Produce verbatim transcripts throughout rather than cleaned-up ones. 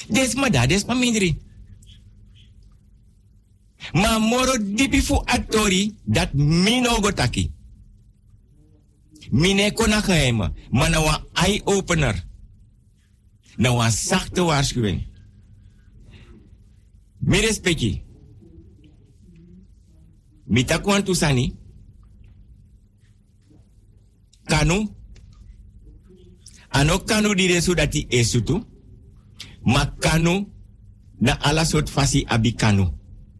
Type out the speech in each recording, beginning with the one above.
Desma da, desma mindri. Ma moro dipi fu atori dat mino gotaki. Mine kona geheime, maar nou een eye-opener. Nou een zachte waarschuwing. Mi respecti. Mi takuan tusani. Kanu. Ano kanu di resu dati esutu. Ma kanu na ala sort fasi abi kanu.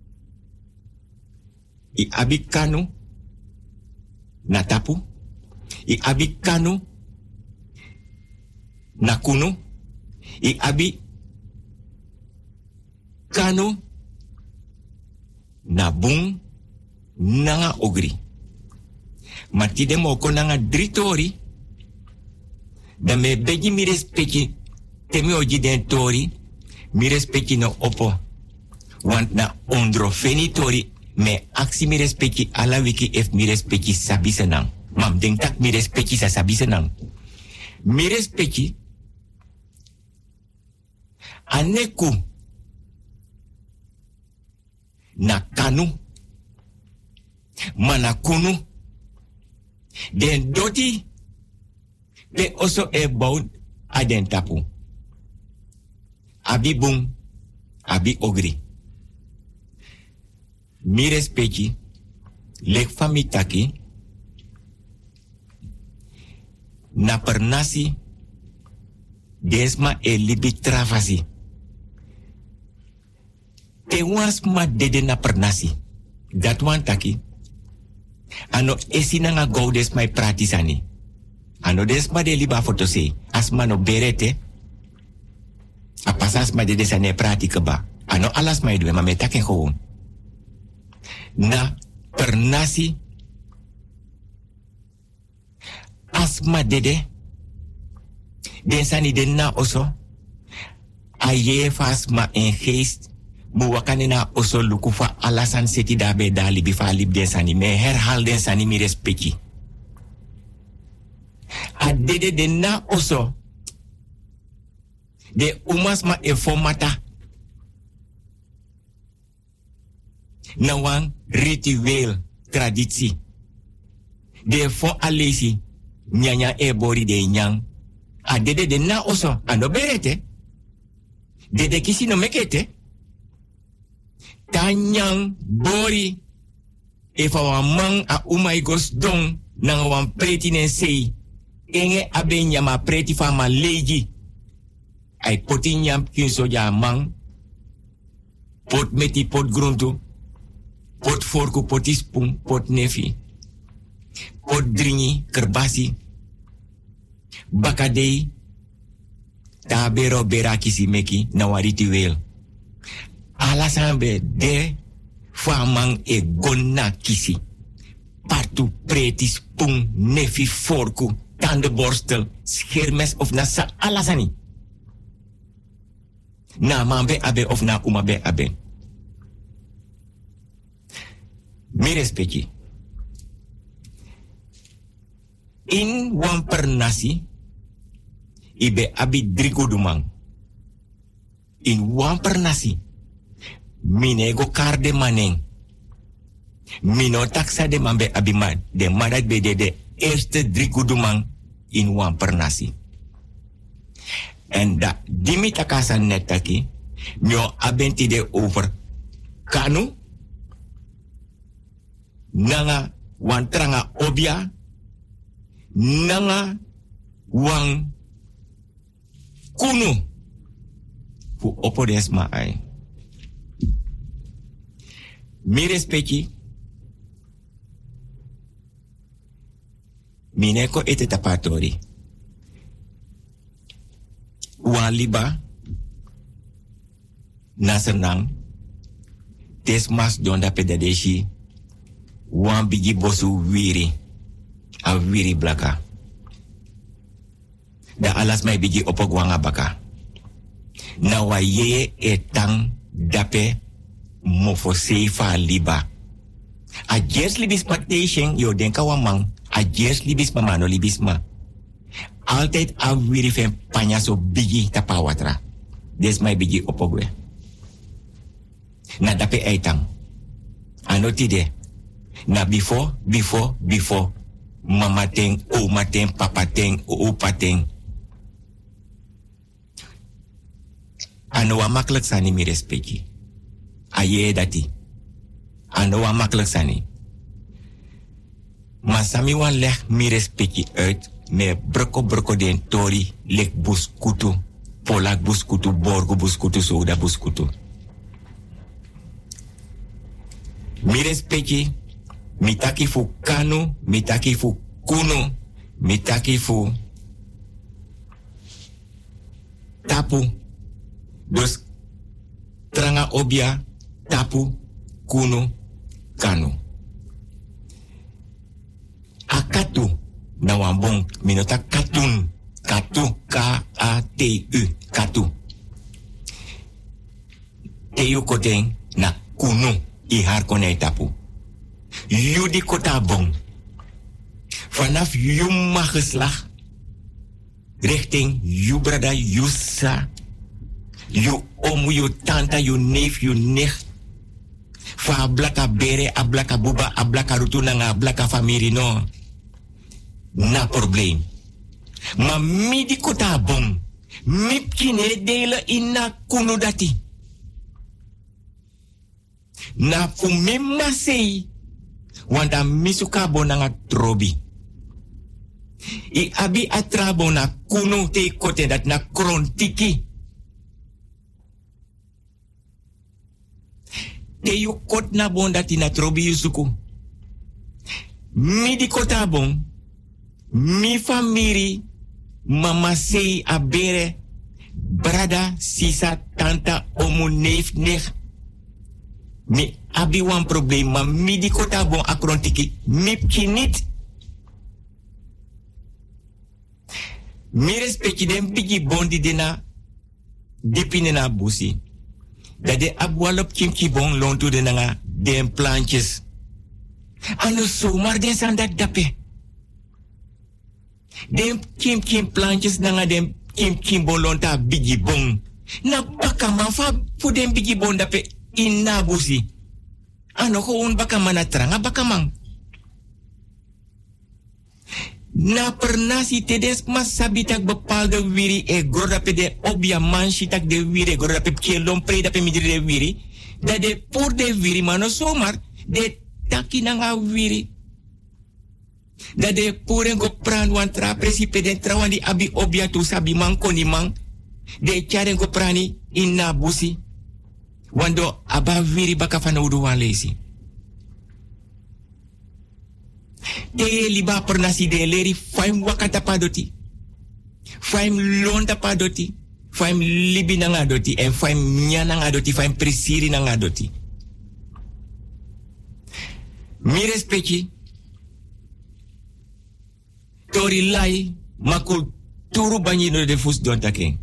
I abi kanu na tapu. I abi kanu na kunu. I abi kanu na bung nanga ogri. Matide moko nanga dritori. Dan me begi mi respecti temi oji den tori. Mi respecti no opo. Want na ondro fenitori me aksi mi respecti ala wiki ef mi respecti sabi senang. Mam denk tak mi respecti sa sabi senang. Mi respecti aneku na kanu manakunu den doti pe oso e bound aden tapu abi bung abi ogri mi respecti lek fami taki na pernasi desma e libi travasi te was ma dede na pernasi dat wan taki ano esina nga go des mai pratisani ano des ma de liba foto se asma no berete a pasas ma dede sane pratika ba ano alas mai dwe ma metake gewoon na pernasi asma dede den sani den na oso aye fasma en geest mu wakane na oso lukufa alasan seti dabe dali bifa lib den sani me herhal den sani mi respecti a dede den na oso de umas ma e formata na wan ritueel traditie de fo alesi nyanya e bori de nyang a dede de na oso ando berete dede kisi no mekete tanyang bori e fa wan man a umai gos don na wan preti nen sei enge abe nyama preti fa ma leji ai poti nyam kin so ja man pot meti pot gruntu pot forku poti spoon pot nefi pot dringi kerbasi bakadei tabero berakisi meki na wariti wel alasambe de famang e gonna kisi partu preti spoon nefi forku tandenborstel schermes of nasa alasani na mambe abe of na umabe abe mi respecti in wan pernasi ibe abi drigudumang in wan pernasi minego karde maneng mino taksa de mambe abiman de madat bede de eerste drigudumang in wan pernasi en da dimi takasa netaki mio abenti de over kanu nanga wan tranga obia nanga wang kunu fu opodes ma ai mi respecti mineko ete tapatori wan liba nasenang desmas donda pedadeshi wan bigi bosu wiri a wiri blaka da alas mai bigi opok wanga baka na wa ye etang dape mofo seifa liba a jes libis patation yo denka wamang a jes libis mamano libis ma altijd a wiri fen panya so bigi tapawatra Des mai bigi opogwe. Na dape eitang. Anotide. Na before, before, before. Mama ten, oma ten, papa ten, opa ten. Ano wa makkelijk sani mi respecti. Aye dati. Ano wa makkelijk sani. Maar sami wan leg mi respecti uit. Me broko broko den tori lek buskutu. Polak buskutu, borgo buskutu, soda buskutu. Mi respecti. Mi taki fu kanu, mi taki fu kunu, mi taki fu tapu. Dus tranga obia, tapu, kunu, kanu. Akatu, na wambong, minota katun, katu, K A T U, katu. Teyu koten na kunu, i har konei tapu. Judi kota bong. Vanaf jumma geslag. Richting ju brada, ju sa. Ju omu, ju tanta, ju neef, ju nicht. Fa ablaka bere, ablaka buba, ablaka rutuna nga ablaka famiri no. Na probleem. Ma midi kota bong. Mipkine dele ina kunu dati. Na fu mimma sei. Wanda misuka bonanga trobi. I abi atrabo na kunu te kote dat na krontiki. Te yu kot na bon dat na trobi yusuku. Mi di kota bon. Mi famiri. Mama sei abere. Brada, sisa, tanta, omu, neef, neef. Mi abi wan probleem, maar mi di kota bon akrontiki, mipki niet. Mi respecti den bigi bondi dena dipine na busi. Dat de abwalop kimki bon lontu de nga den plantjes. Ano zomaar den san dat dape. Den kim kim plantjes nga den kim kim bon lonta bigi bon. Na baka man fa fu den bigi bon dape. Inna busi. Ano gewoon baka manatranga baka man. Na pernasi tedes mas sabitak bepaalde wiri e gordape de obia manchitak de wiri gordape kielom pre dape midri de wiri. Da de por de wiri mano somar de taki nanga wiri. Da de puren go pran wan tra presipe den trawandi abi obia tu sabi man koni man. De charen go prani inna busi. Wando aba viri baka fana udu wan lesi. De liba pernasi de leri faim wakata padoti. Faim londa padoti. Faim libi nanga doti. En faim nya nanga doti. Faim presiri nanga doti. Mi respecti. Tori lai makul turu banyino de fus don taken.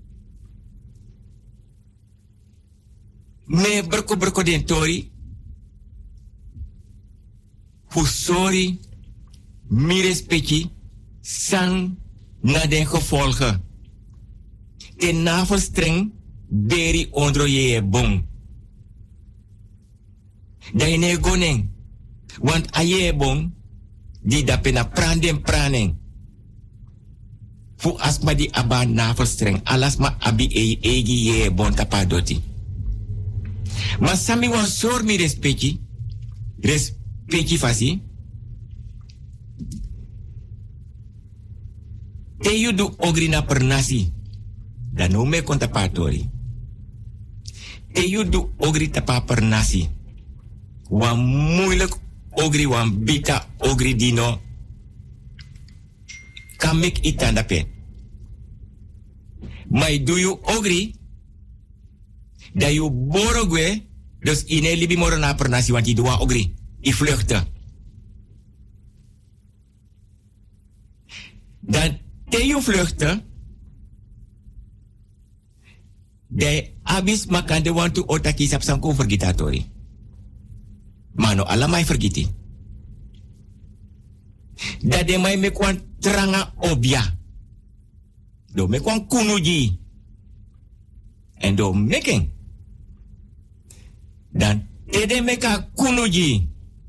Me berko berko den tori. Fusori. Mi respecti. Sang na den gevolgen. Ten navelstreng. Beri ondro je bon. Da ine gonen. Want aye bon. Di dape na pranden pranen. Fu asma di aba navelstreng. Alasma abi e egi ye bon tapadoti. Maar sami wan sor mi respecti. Respecti fasi. Te yu du ogri na per nasi. Dan no me kontapatori. Te yu du ogri tapa per nasi. Wan moeilijk ogri wan bita ogri dino. Kamek itandape. Maar do you ogri? Dat je borogwe, dus in een libi moro na per nasi, want die doa ogri, i vluchten. Dan te je vluchten, de abis makande want to otaki sap sanko vergitatori. Mano alamai vergiti. Dat de mai me kwan tranga obia. Do me kwan kunuji. En do making. Dan tede meka kunuji.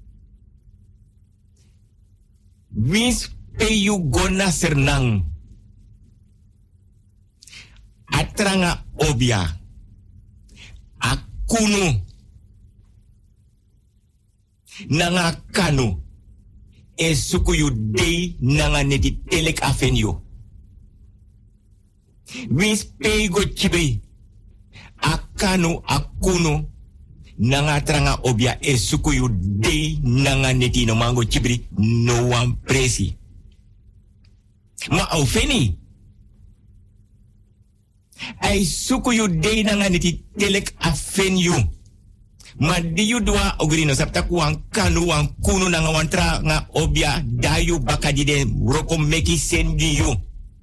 Wins pe you gona sernang. Atranga obia. Akunu. Nanga kanu. E suku yu dei nanga neti telek afenyo. Wins pe go chibe. Akanu akunu. Nanga tranga obia e suku yu dei nanga neti no mango chibri no one presi. Ma au feni. Ai suku yu dei nanga neti telek afenyo. Ma di yu dua ogri no sapta ku wan kanu wan kunu nanga wan tranga obia dayu bakadide roko meki sendi yu.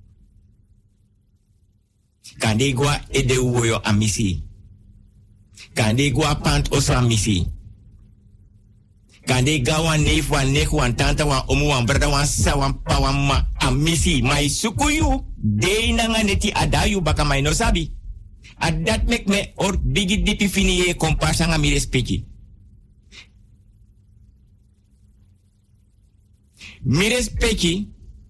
Kande gwa ede uwoyo amisi. Kande gwa pant osa misi. Kande gawa neef wan nek wan tanta wan omu wan brada wan sa wan pa wan ma amisi. Mai sukuyu dei nanga neti adayu baka mai no sabi. Adat mek me or bigi dipi fini ye komparsa nga mi respecti. Mi respecti.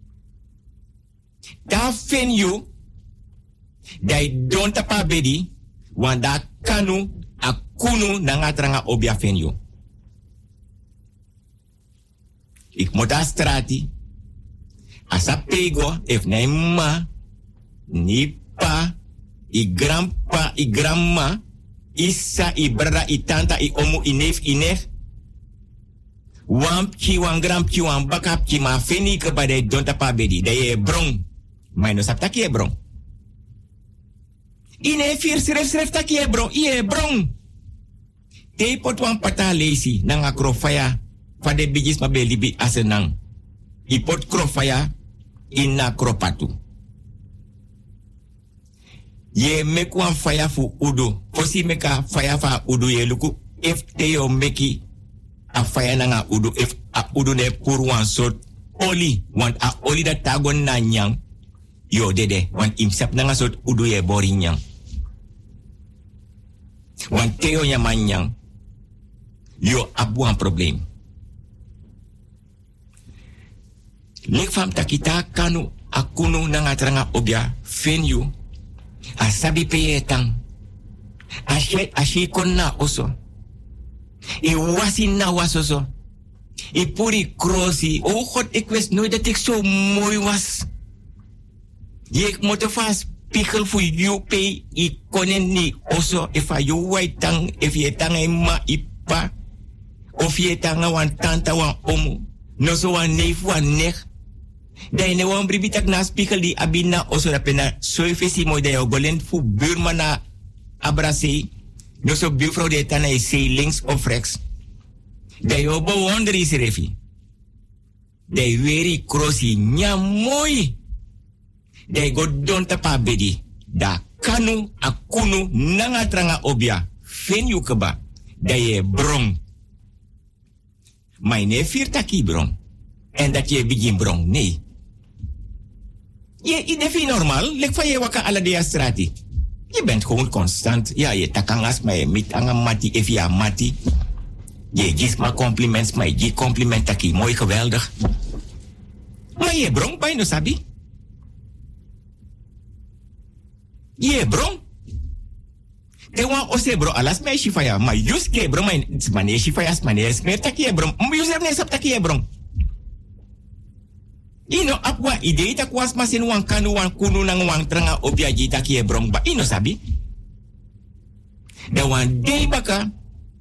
Da fen you. Dai don tapa bedi. Wanda kanu akunu nanga tranga obia fen you. Ik moet a strati. Asa pego, if na ma, ni pa, i grandpa, i grandma, isa, i brada, i tanta, i omu, i neef, i neef. Wampchi, wan grandchi, wan bakapchi, ma feni ke ba de donta pa bedi. De ye brong. Maar no sapta ki ye brong. Ine fir sref sref taki ye brong. Ie brong. Te pot wan pata lesi, nanga krofaya. Fade bigis ma be libi asenang. I pot krofaya ina kropatu. Ye mek wan faya fu udu. Fosi meka faya fa udu ye luku. If te yo meki a faya nanga udu. If a udu ne pur wan sort oli. Want a oli da tagon na nyang. Yo dede. Want imsap nanga sort udu ye bori nyang. Want te yo nyaman nyang. Yo abu an problem. Lek fam takita kanu akunu nanga tranga obia fenyu asabi peyetang ashe ashe konna oso e wasi na wasoso e puri krosi o god ik wist nooit dat ik zo mooi was je moet vast spiegel voor you pay i konen ni oso if a you white tang if je tang ma ipa of je tang wan tanta wan omu no so wan neef wan nech. Dai ne wan bribitak na spiegel di abina oso da pena so ifesi mo de golen fu buurman na abrase no so buurvrouw de tana is say links of rechts. Dai obo wonder is refi. Dai very crossi nya mooi. Dai go don tapa bedi. Da kanu akunu nanga tranga obia. Fen yu keba. Dai e brong. My ne firtaki brong. En dat je begin brong. Nee. Je idefi normaal. Lek van je waka ala de strati. Je bent gewoon constant. Ja, je takangas, maar je met anga mati, evia mati. Je geeft maar compliments, maar je geeft compliment taki. Mooi, geweldig. Maar je brong, bij no sabi. Je brong. Te wan ose bro, alas mij shifaya. Maar jus ke bro, maar mane shifaya, mane smer taki je brong. Maar jus er ne sap taki je brong. Ino apwa idee ta kwas masin wan kanu wan kunu nang wan tranga obia jita kie brong ba ino sabi. Da wan dei baka.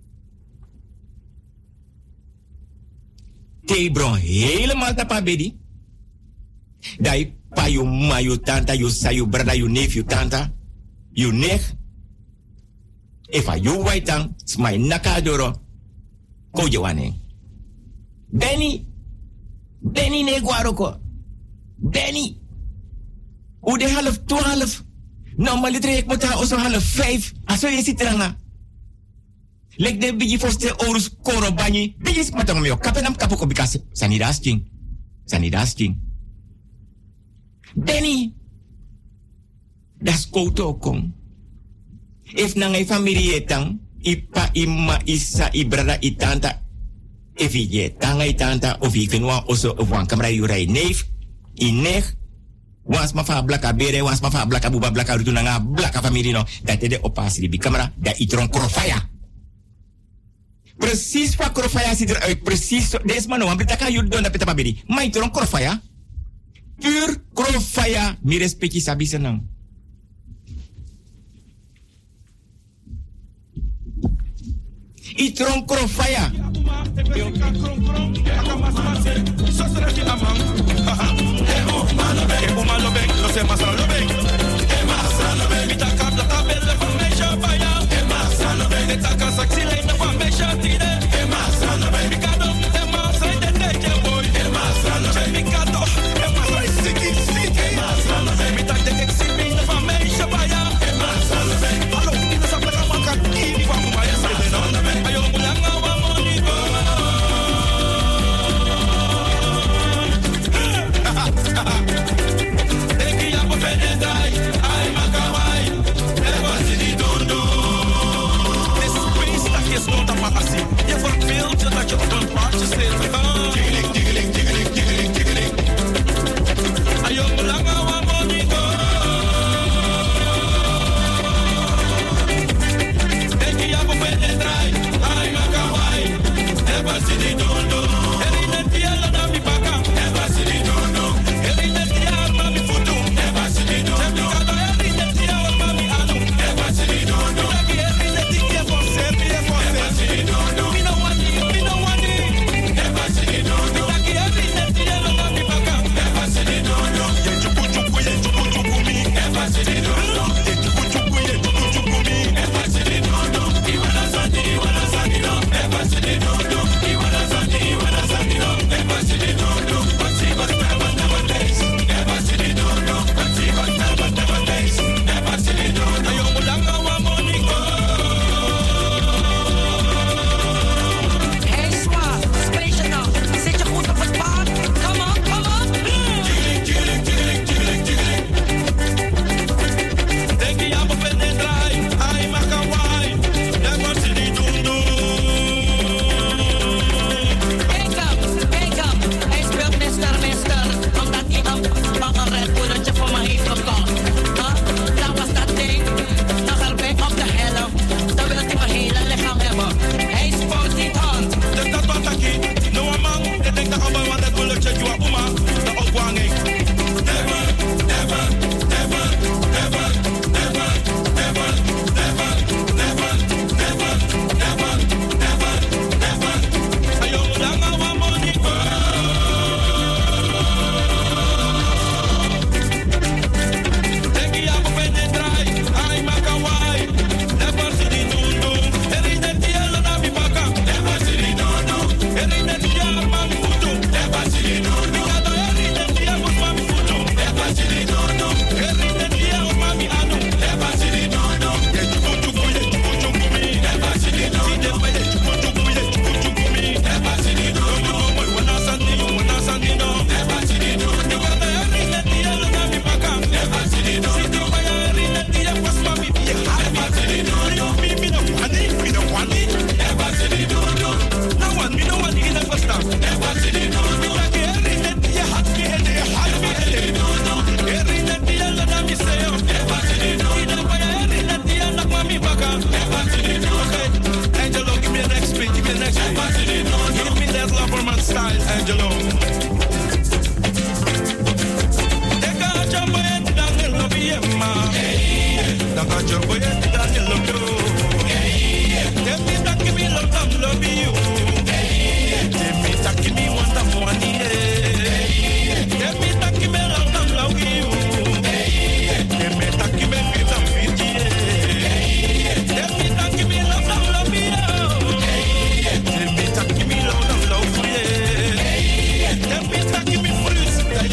Te brong helemaal tapa bedi. Dai pa yu ma yu tanta yu sa yu brada yu neef yu tanta. Yu nech. Efa yu waitang smai nakadoro. Ko jewane. Benny. Benny ne guaroko. Benny. Hoe de half twaalf. Nou, maar litre ik moet also half vijf. Aso je zit er nga. Lek de bigi foste orus koro banyi. Bigi smatang mio. Kapenam kapoko bikase. Sanidas king. Sanidas king. Benny. Das koto kom. If na ngai familie etang, ipa ima isa ibrada itanta, if je tanga itanta, of ik vinwa oso of wan kamera yurai neef, in neg, wans ma fa blaka bere, wans ma fa blaka buba blaka rutu na nga blaka familie no, dat de opasri bi kamera, da itron krofaya. Precies wat krofaya ziet eruit, precies, deze man, want betaka jullie doen dat betaka beri, maar itron krofaya, puur krofaya, mi respecti sabi senang. Itron krofaya.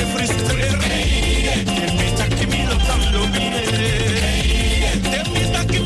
Give me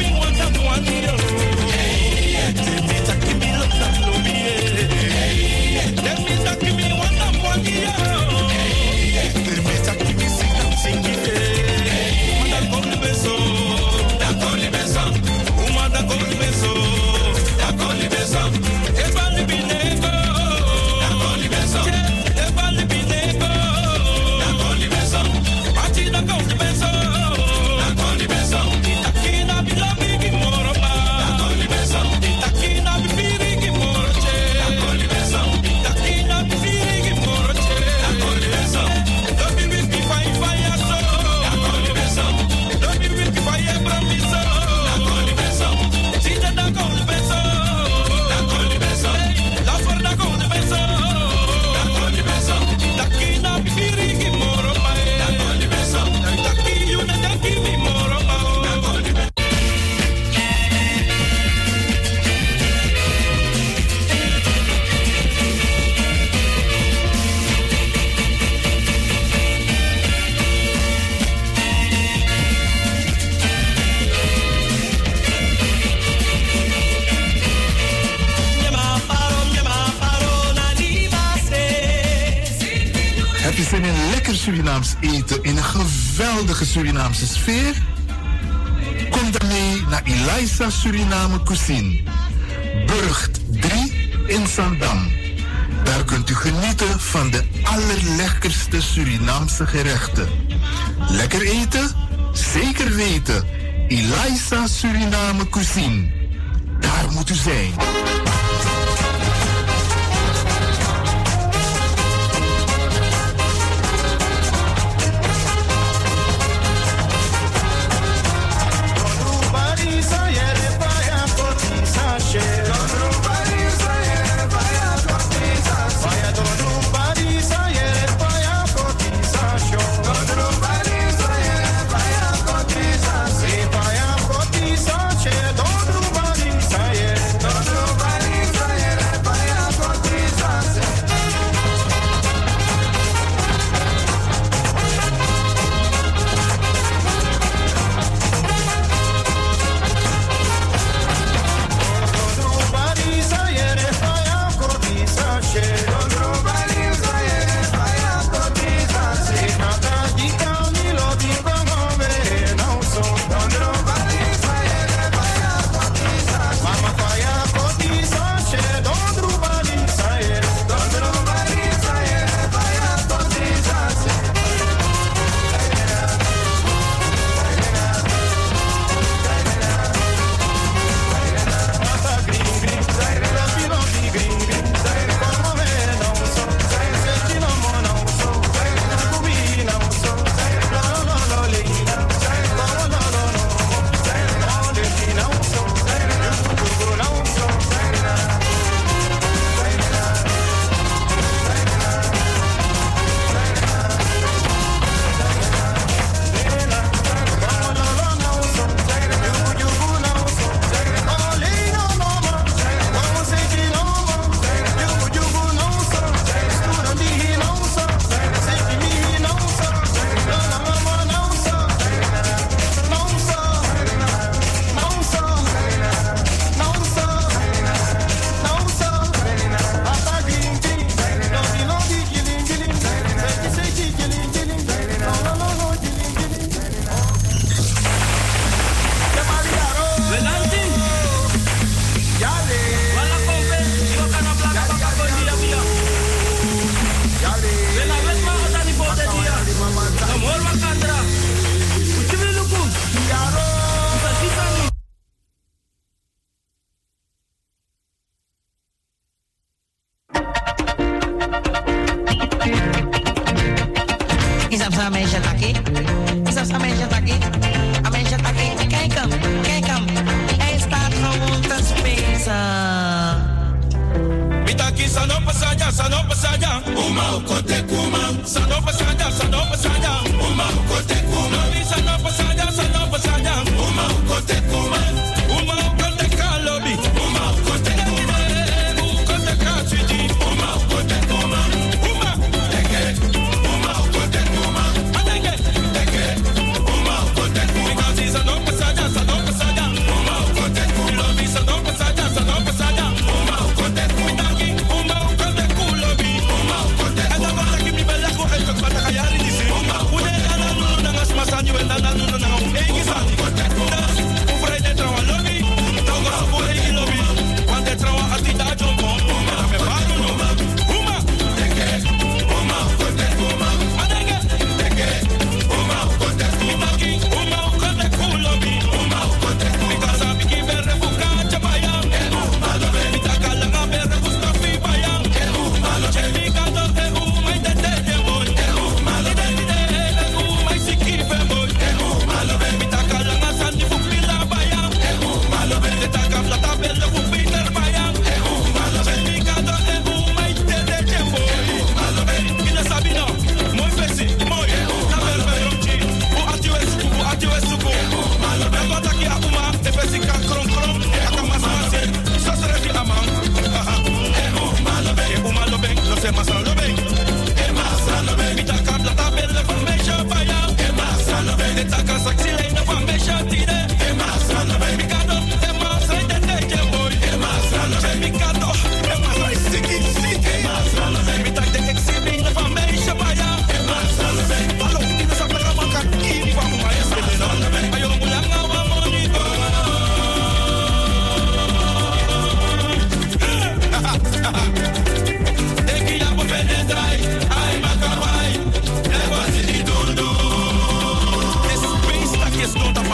Surinaams eten in een geweldige Surinaamse sfeer? Kom dan mee naar Eliza Suriname Cuisine. Burgt drie in Zandam. Daar kunt u genieten van de allerlekkerste Surinaamse gerechten. Lekker eten? Zeker weten. Eliza Suriname Cuisine. Daar moet u zijn.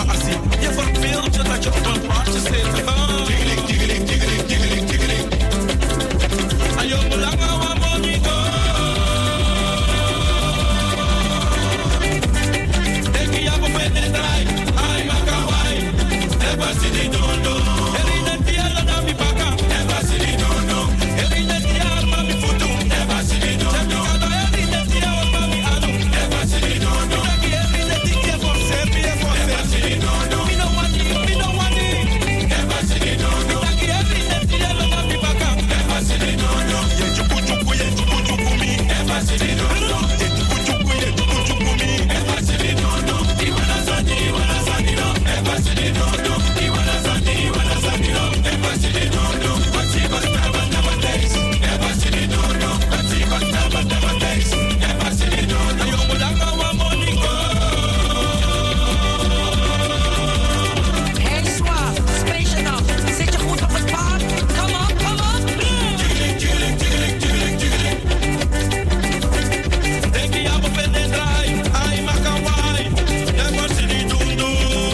assie. Je verbeeldt je dat je op een paardje zit. Tiggeling, tiggeling, tiggeling, tiggeling, tiggeling. Ayo, belangen wa moniko. Denk je ja, we vinden het draai. Ai, makawai. Eba sidi dondo. Erine tiara na mi baka. Eba sidi dondo. Erine tiara mami futu. Eba sidi dondo. Erine tiara mami anu. Eba sidi dondo. Erine tiara for serbi e for serbi. Eba sidi dondo. Mi no wani, mi no wani. Eba sidi dondo. Erine tiara mami baka. Eba sidi dondo. Ye chuku chuku ye chuku chuku mi. Eba sidi dondo. Ye chuku chuku ye chuku chuku mi. Eba sidi dondo. Iwana sani, iwana sani no. Eba sidi dondo. Iwana sani, iwana sani no. Eba sidi dondo. Wati basta basta basta. Eba sidi dondo. Wati basta basta basta. Eba sidi dondo. Ayo mulanga wa moniko. Hey Swap, space enough. Zit je goed op het paard? Kom op, kom op. Tiggeling, tiggeling, tiggeling, tiggeling, tiggeling. Denk je ja, we vinden het draai. Ai, makawai. Eba sidi dondo.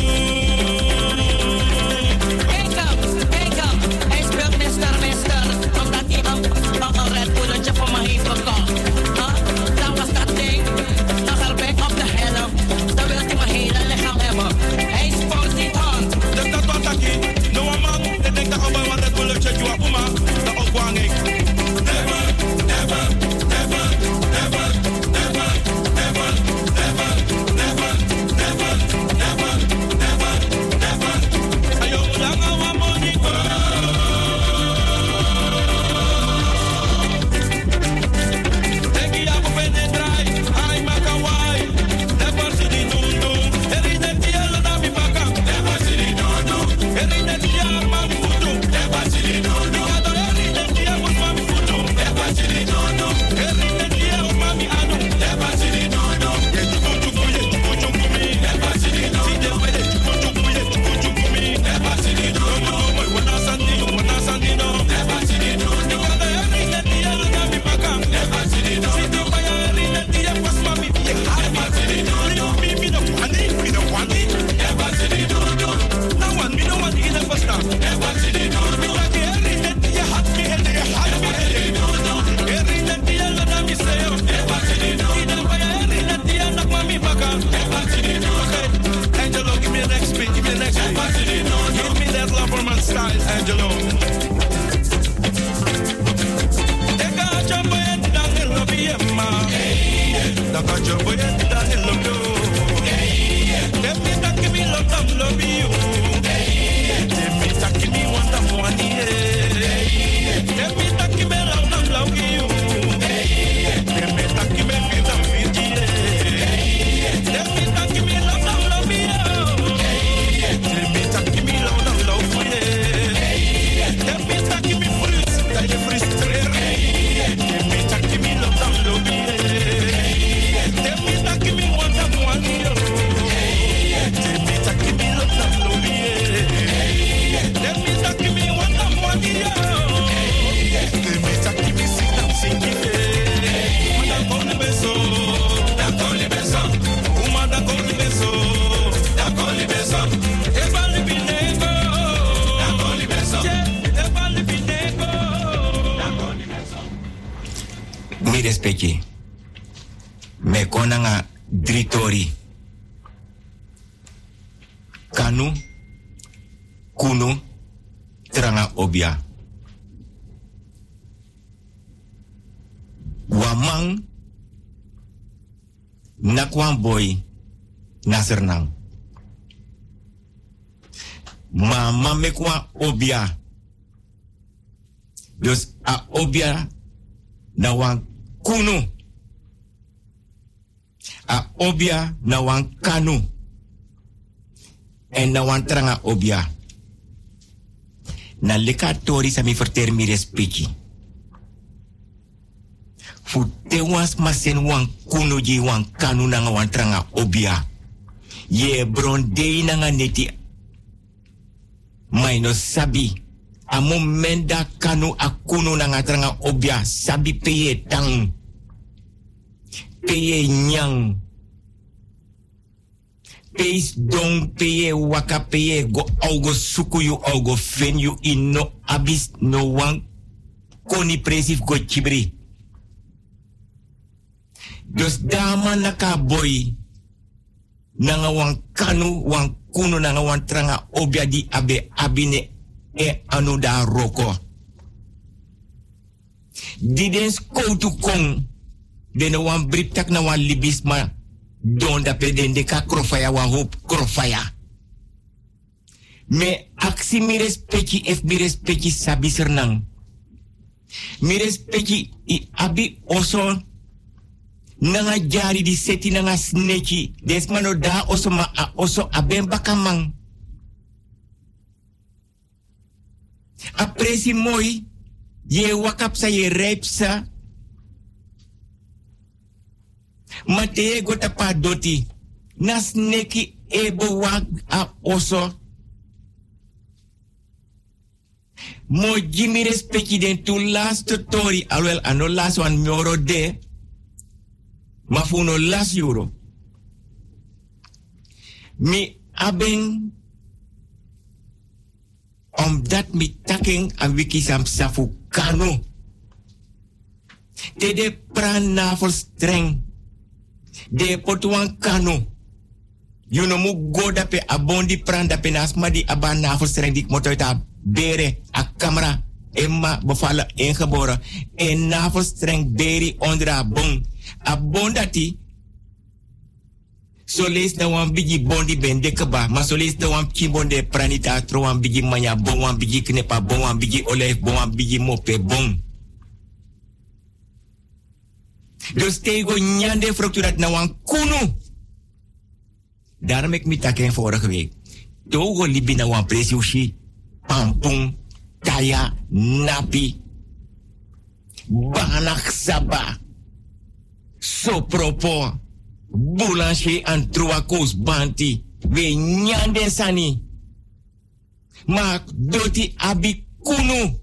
Wake up, wake up. Hij speelt mister, mister. Omdat hij een, een, een Red Bulletje voor me heeft gekocht. Huh? Dat was dat ding. Dan ga ik op de helm. Dan wil hij mijn hele lichaam hebben. Hij spoort niet aan. Denk dat wat aki. No man. Ik denk dat op een wat het bulletje jua uma. Dat opwang ik. Never, never, never, never, never, never, never, never, never, never, never, never. Ayo, mulanga wa moniko. Denk je ja, we vinden het draai. Ai, makawai. Never sidi dondo. Erine tiara na mi baka. Never sidi dondo. Erine tiara mami futu. Never sidi dondo. Erine tiara was mami futu. Never sidi dondo. Erine tiara mami anu. Never sidi dondo. Ye chuku chuku ye chuku chuku mi. Never sidi dondo. Si de wele chuku chuku ye chuku chuku mi. Never sidi dondo. Moi wana sandi, wana sandi no. Never sidi dondo. Erine tiara na mi baka. Never sidi dondo. Si de wele erine tiara was mami. Never sidi dondo. Mi mi no wani, mi no wani. Never sidi dondo. No one, mi no wani in a pasta. Never sidi dondo. Erine tiara hat mi hele, hat mi hele. Erine tiara na mi seyo. Never sidi dondo. Si de wele erine tiara na mami baka. Never sidi dondo. Angelo, give me the next beat, give me the next beat. Never sidi dondo. Give me that Loverman style, Angelo. Eka jambo yet dang el lobby emma. Daka jambo yet dang el lobby. Let me take me love them lobby you. Let me take me want them money. Let me take me love them love you. Let me take me feel them feel you. Let me take me love them love you. Let me take me love them love you. Let me take me freeze, that you freeze trailer. Let me take me love them love you. Let me take me want them money. Let me take me love them love you. Let me take me want them money. Let me take me sing them sing it. Da con le beso, da con le beso, uma da con le beso, da con le beso, e vale binego, da con le beso, e vale binego, da con le beso. Mi respecti. Me konanga dritori. Kanu, kunu, tranga obia. Wamang, nakwan boy, nasernang. Mama mekwa obia. Dus a obia na wan kunu. A obia na wan kanu. En na wan tranga obia. Na leka tori sa mi verter mi respecti. Fu te was masen wan kunu ji wan kanu na wan tranga obia. Ye bron dei na neti. Mai no sabi. A moment da kanu a kunu na tranga obia. Sabi peye tang. Peye nyang. space don peye waka peye go augo suku you augo fen you in no abis no one koni presif go chibri. Dus dama naka boy nanga wan kanu wan kuno nanga wan tranga obia di abe abine e anu da roko. Didens koutu kong dene wan briptak na wan libisma don da pedende ka krofaya wan hoop krofaya. Me aksi mi respecti ef mi respecti sabi sernang. Mi respecti i abi oso nanga jari di seti nanga sneki desmano da oso ma a oso abemba kamang. Apresi moi ye wakap sa ye repsa mate gota pa doti na sneki ebo wak a oso mo jimi respecti den tu last story alwel ano last one moro de ma funo last euro mi aben omdat mi taking an wiki sam safu kano de de pran na for streng de potuan kano you know mu go dape abondi pran dape nasma di aban na for streng dik motoita bere a camera emma bofala ingeboren en na for streng beri onder a bon abondati so lees na wan bigi bondi ben dekaba ma so lees na wan kimbonde pranita tro wan bigi manya bon wan bigi knepa bon wan bigi olef bon wan bigi mope bon dus tego nyande frukturat na wan kunu daarom ik mi taken vorige week togo libi na wan presiushi pampung kaya napi banak saba sopropo boulanger en truakos banti we nyande sani mak doti abi kunu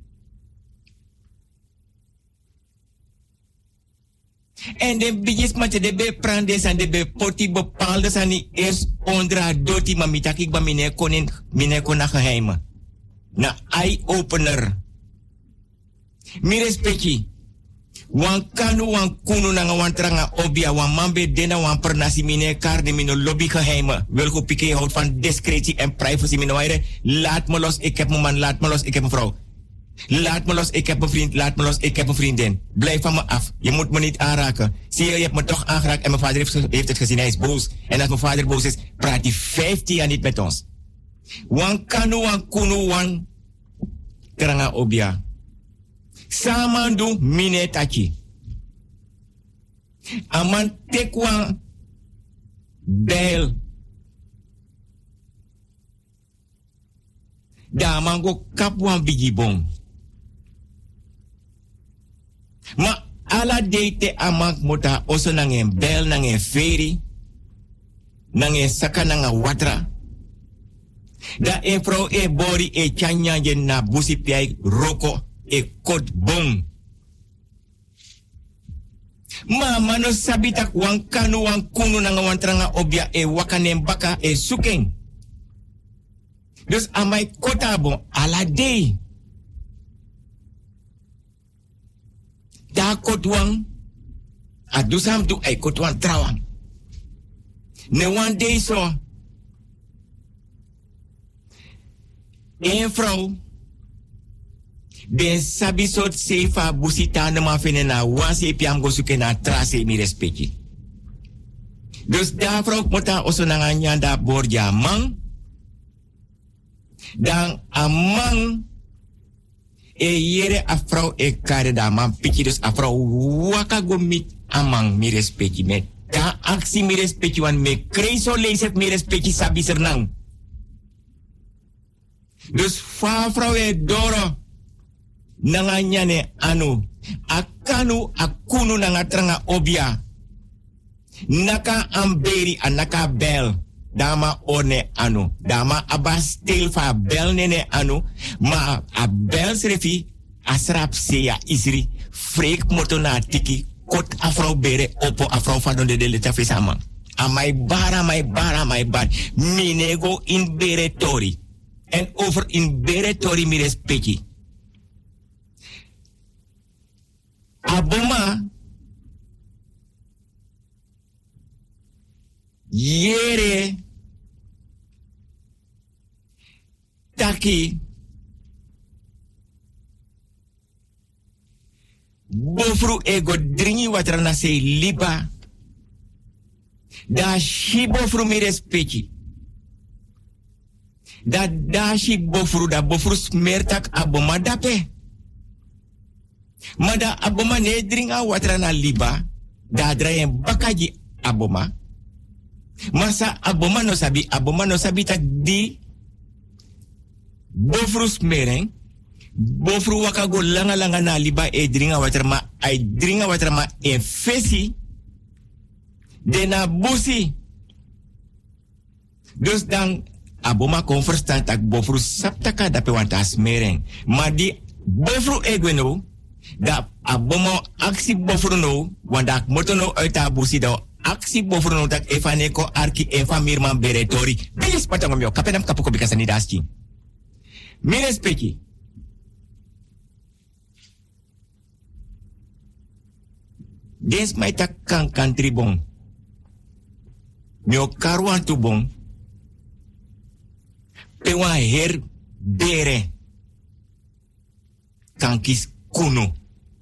en de bigis mate de be prande san de be poti bepaalde sani eerst ondra doti ma mitakik ba mine konin mine kona geheime na eye opener mi respecti wan kanu wan kunu nanga wan tranga obia wan mambe dena wan pernasi mine kar de mino lobby geheime welko pike houdt van discretie en privacy mino waire laat me los ik heb mijn man laat me los ik heb een vrouw laat me los ik heb een vriend laat me los ik heb een vriendin blijf van me af je moet me niet aanraken zie je je hebt me toch aangeraakt en mijn vader heeft, heeft het gezien hij is boos en als mijn vader boos is praat hij vijftien jaar niet met ons wan kanu wan kunu wan tranga obia Samandu mine tachi. Aman tekwan bel. Da mango kapwan bigibon. Ma ala deite amak mota oso nangen bel nangen feri. Nangen saka nangen watra. Da e pro e bori e chanya jen na busi piai roko. E kot bon. Ma mano sabitak wan kanu wan kunu nanga wan tranga obia e wakanem baka e suken. Dus amai kota bon ala day. Da kot wan adusam du e kot wan trawang. Ne wan day so. Een vrouw ben sabi sot sefa busita na mafene na wansi piam go suke na trase mi respecti. Dus da vrouw mota oso na nganya da borja mang. Dan amang e yere a vrouw e kare da man piki dus a vrouw waka go mit amang mi respecti met. Da aksi mi respecti wan me kreiso leesef mi respecti sabi sernang. Dus fa vrouw e doro nanga nyane anu akanu akunu nanga tranga obia naka amberi anaka bel dama one anu dama abastel fa bel nene anu ma a bel srefi asrap seya isri freak moto na tiki kot afro bere opo afro fa don de de leta fe sama Amai bar, amai bar, amai bar. Minego in beretori. En over in beretori mi respecti. Aboma. Yere. Taki. Bofru ego dringi watrana se liba. Da shi bofru mi respecti. Da da shi bofru da bofru smertak aboma dape. Mada aboma ne dringa watrana liba. Da drayen bakaji aboma. Masa aboma no sabi, aboma no sabi tak di bofru smeren. Bofru wakago langa langa na liba e dringa waterma, ai dringa waterma e fesi. De na busi. Dus dan aboma kon verstaan tak bofru saptaka dape wanta smeren. Ma di bofru egweno, da aboma aksi bofru no, wanda moto no uit a busi da aksi bofru no tak efaneko arki efa mirman beretori. Bilis patangom yo, kapenam kapuko bikasani daski. Mire speki. Des mai tak kan country bon. Mio karwan tu bon. Pe wan her bere. Kankis kuno.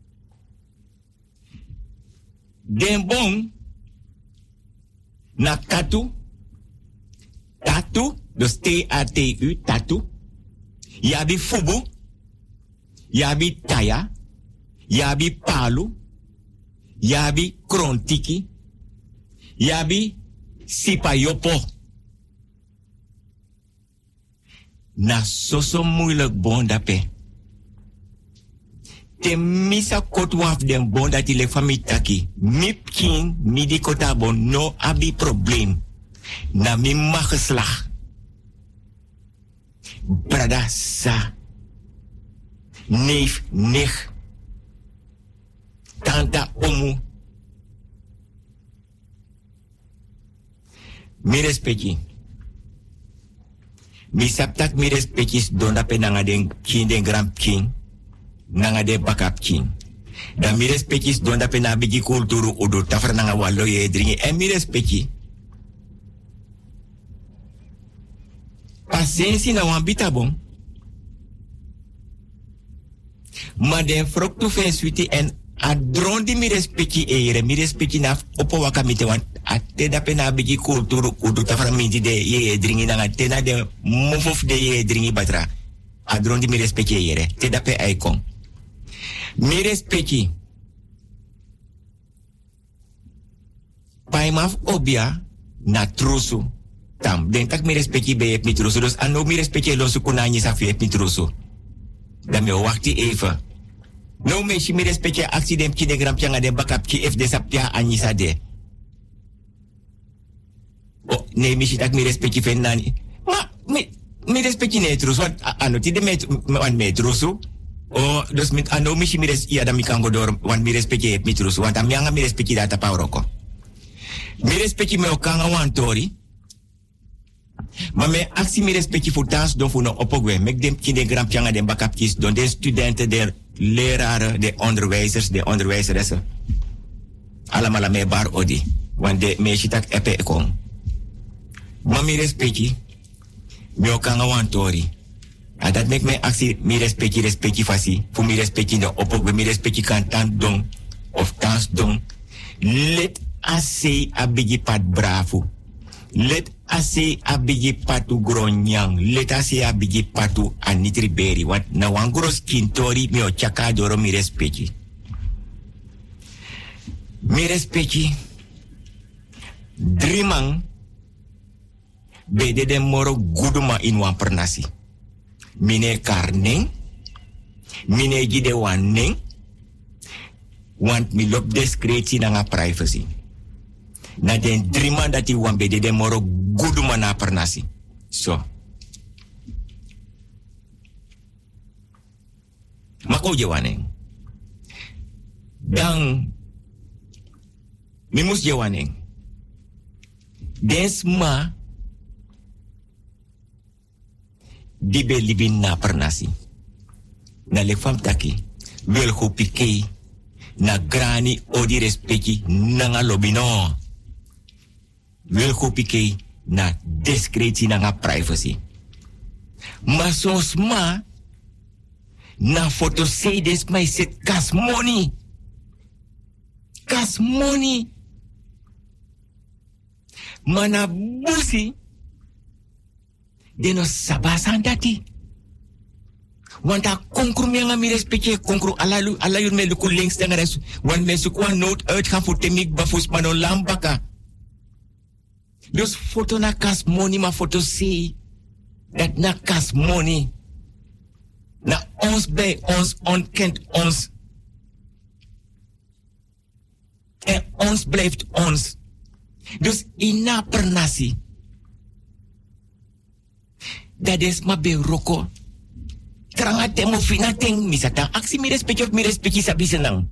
Den bon. Na tatu. Tatu. Dus T A T U. Tatu. Yabi fubu. Yabi taya. Yabi palu. Yabi krontiki. Yabi sipayopo. Na soso moeilijk bon dape. Te misa kot waf den bon dati le fami taki. Mip kin mi di kota bon no abi probleem. Na mi mageslag. Brada sa. Neef nich. Tanta omu. Mi respecti. Mi saptak mi respectis donda pe nanga den kin den grand king. Nanga de bakap king. Dan mi respectis donda pe na bigi kulturu odo tafra nanga wallo ye dringi. En mi respecti. Pasensi na wambita bon. Ma den frok tu fen suiti en a drondi mi respecti e yere mi respecti na opo waka mite wan a te da pe na bigi kulturu udu tafra minti de ye dringi nanga te na de mofof de ye dringi batra a drondi mi respecti e yere te da pe aikon mi respecti paimaf obia na trusu tam den tak mi respecti be yep mi trusu dus ano mi respecti lo su kunanyi sa fi yep mi trusu dan me wakti even. No me si mi respecte accident ki de gram pianga de bakap ki F de sapia anisa de. Oh, ne mi si tak mi respecte fen nani. Ma, mi, mi respecte ne trus, wat ano ti de met, wan me trusu. Oh, dus mit ano mi si mi res, iya da mi kango dor, wan mi respecte mi trusu, wan tam mianga mi respecte data pauroko. Mi respecte me okanga wan tori. Maar mijn actie meer respectie voor dans doen voor een opgwe. Met de kinderen gram pianga de bakapjes doen de studenten, de leraren, de onderwijzers, de onderwijzeressen. Allemaal mee bar odi. Want de meisje tak epe kon. Maar meer respectie, me ook aan een tori. En dat maakt mijn actie meer respectie, respectie fasi. Voor meer respectie de opgwe, meer respectie kan tant doen of dans doen. Let ase abigi pat bravo. Let ase abigi patu gronyang. Let ase abigi patu anitri beri. Want na wangros kintori mi o chaka doro mi respecti. Mi respecti. Drimang. Bede de moro guduma in wan pernasi. Mine karning. Mine gide waning. Want mi lop discretie na nga privacy. Na den drima dati wambe de de moro guduma na pernasi. So. Mako jewaneng. Dan. Mimus jewaneng. Desma di be libin na pernasi. Na le fam taki wel go pike na grani odi respecti nanga lobino. Wel go pike na discretie nanga privacy. Maar soms ma na foto say des my set kas money. Kas money. Mana busi deno sabasan dati. Want a konkru mi nga mi respecte konkru alalu alayu me luku links dan res. Want me su kwa note uitgaan voor temik bafus mano lambaka. Dus foto na kas money ma foto say dat na kas money. Na ons bij ons ontkent ons. En ons blijft ons. Dus ina pernasi. Dat is ma be roko. Tranga temo fina ting misata. Aksi mi respecti of mi respecti sabi senang.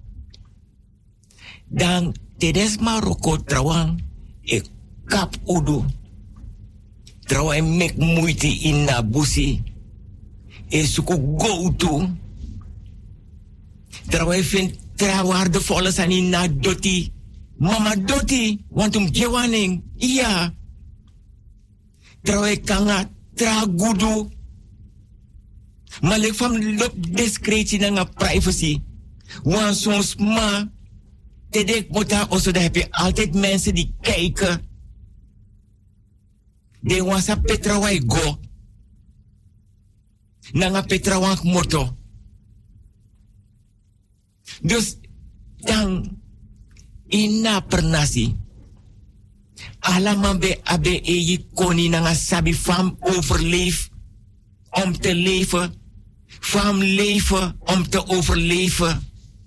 Dan tedes ma roko trawang e kap udu. Trawang mek muiti ina busi. E suku go to. Trawang fin trawaardevolle san ina doti. Mama doti, want um gewaning. Iya. Trawang kanga tra gudu. Maar ik van lop discretie naar privacy. Want soms ma, te dek mota also, daar heb je altijd mensen die kijken. De wansa petra wai go. Nanga petra wank moto. Dus dan ina pernasi. Alaman be abe eji koni nanga sabi fam overleef om te leven. Van leven om te overleven.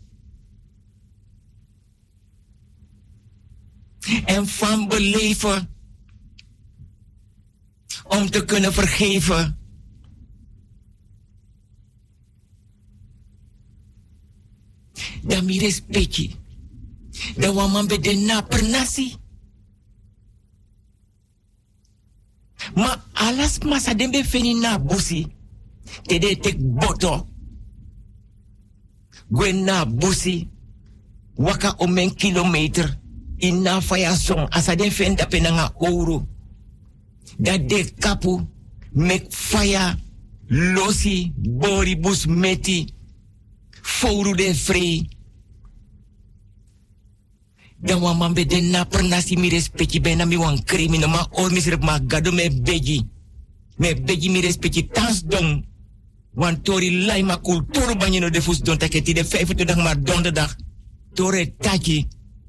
En van beleven om te kunnen vergeven. Dan mi respecti. Dan waman be de na pernasi. Ma alas masa dembe feni na busi. Tede tek boto. Gwen na busi. Waka omen kilometer. Ina faya song. Asa den fenda penanga ouro. Dat de kapu. Mek faya. Losi. Bori bus meti. Fouru den free. Dan wan man be den na pernasi mi respecti. Bena mi wan criminal. Ma or misrep ma gado me beji. Me beji mi respecti. Tans dong. Want tori lai ma kulturu banyino de fus don taketi de vijfentwintig maar donderdag. Tore taki.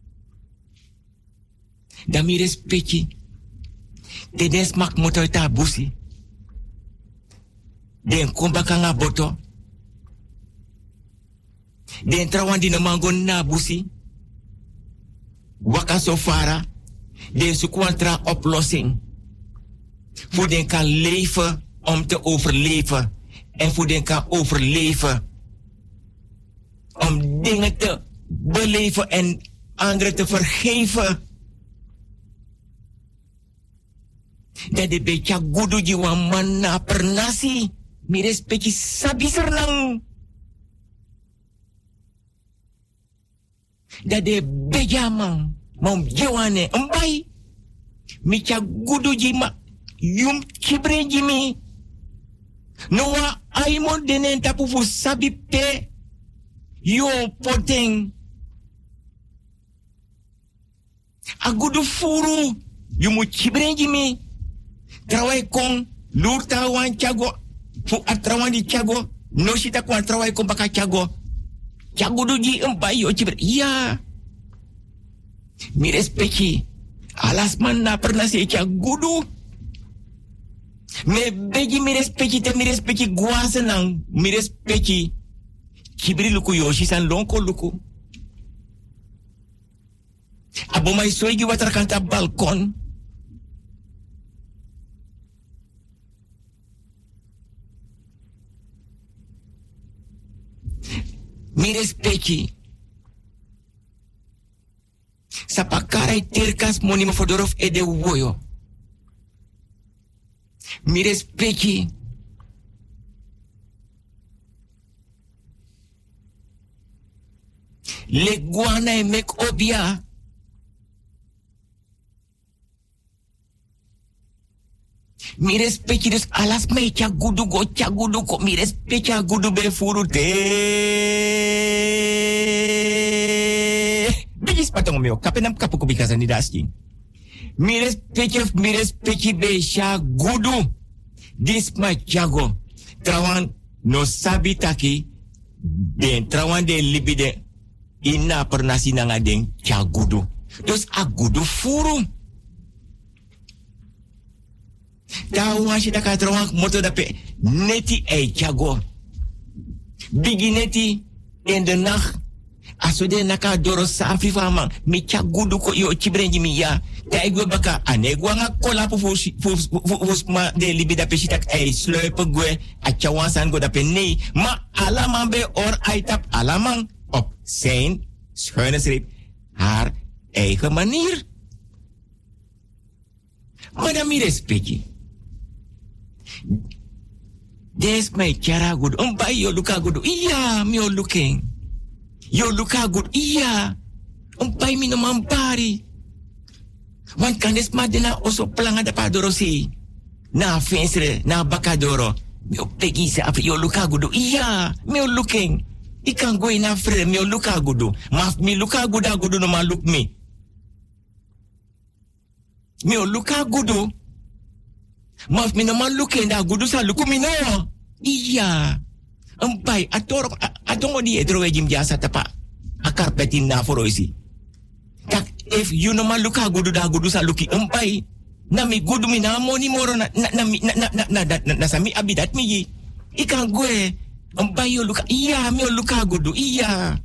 Dan mi respecti. De des mak moto ita busi. Den kombaka nga boto. Den trawan di mango na busi. Waka sofara. Den sukuan tra oplossing. Voor den kan leven om te overleven. En voor den kan overleven. Om dingen te beleven en anderen te vergeven. Dat de beetje gudu jiwa mana pernasi. Mi respecti sabi sernang. Dat de bejamang. Mom jiwane embai. Mi cha gudu jima. Yum kibre jimi. Noa aimon denen tapu fu sabi pe. Yo poteng. Agudu furu. Yumu chibrenji mi. Trawai kong. Lurta wan chago. Fu atrawan di chago. No sita kwan trawai kong baka chago. Chago duji empai yo chibre. Iya. Mi respecti. Alas man na pernah se chagudu. Me begi mi respecti te mi respecti guasenang. Mi respecti. Kibri luku yoshi san lonko luku. Abo mai soigi water kanta balkon. Mi respecti. Sapakara tai terkas moni ma fodorof e de woyo. Mi respecti. Le guana e mek obia. Mi respecti dus alas me cha gudu go cha gudu ko mi respecti a gudu be furu te. Bigis patong meo kapenam kapu ko bikasan ni dasking. Mi respecti mi respecti be cha gudu. Dis ma chago. Trawan no sabitaki den trawan de libide ina pernasi nanga den cha gudu. Dus a gudu furu. Tahu masih tak kata orang motor dapat neti eh jago. Bigi neti in de nacht. Asude naka doro safi fama. Mi chagudu ko yo chibrenji mi ya. Ta igwe baka ane gwa nga kola pu fus ma de libi dapat sitak eh sluipen gwe achawansan go dapat nee. Ma alamang be or aitap alamang op zijn schuine streep haar eigen manier. Maar dan mi respecti. Des my cara good. Um by yo luka good. Iya, mi o looking. Yo luka good. Iya. Um by mi no mampari. Wan kan des madena oso planga da padoro si. Na fensre, na bakadoro. Mi o pegi sa afri yo luka good. Iya, mi o looking. Ikan go ina fre mi o luka good. Ma mi luka good good no ma look me. Mi o luka good. Maf mi no man luke nda gudu sa luku mi no. Iya. Empai ator atongo di edro jim jasa tapa. Akar petin na foroisi. Tak if you no man luka gudu da gudu sa luki empai. Na mi gudu mi na moni moro na na na na na na na na sami abidat mi. Ikan gue empai yo luka. Iya mi yo luka gudu. Iya.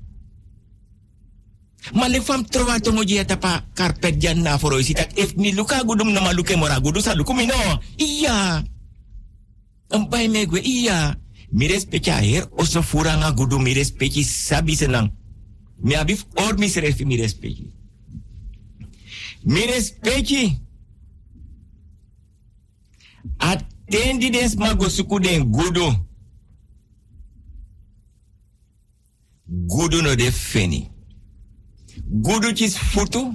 Malefam trova tongo jia tapa karpet jan na foroisi tak if mi luka gudum na maluke mora gudu sa luku mino. Iya. Empai me gue iya. Mi respecti aher oso furanga gudu mi respecti sabi senang. Mi abif or mi serefi mi respecti. Mi respecti. Atendi des mago suku den gudu. Gudu no de feni. Gudu chis futu.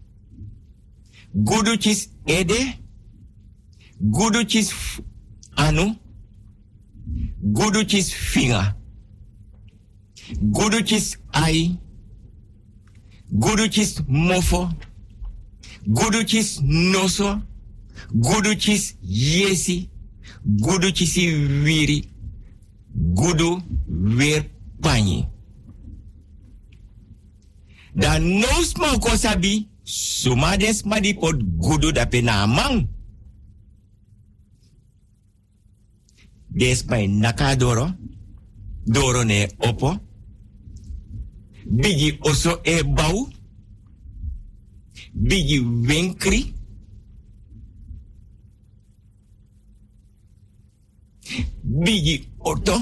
Gudu chis ede. Gudu chis anu. Gudu chis finga. Gudu chis ai. Gudu chis mofo. Gudu chis noso. Gudu chis yesi. Gudu chis wiri. Gudu weer panyi. Dan nous man ko sabi, sumades madi pot gudu dape na amang. Des may nakadoro, doro ne opo, bigi oso e bau, bigi wenkri, bigi oto,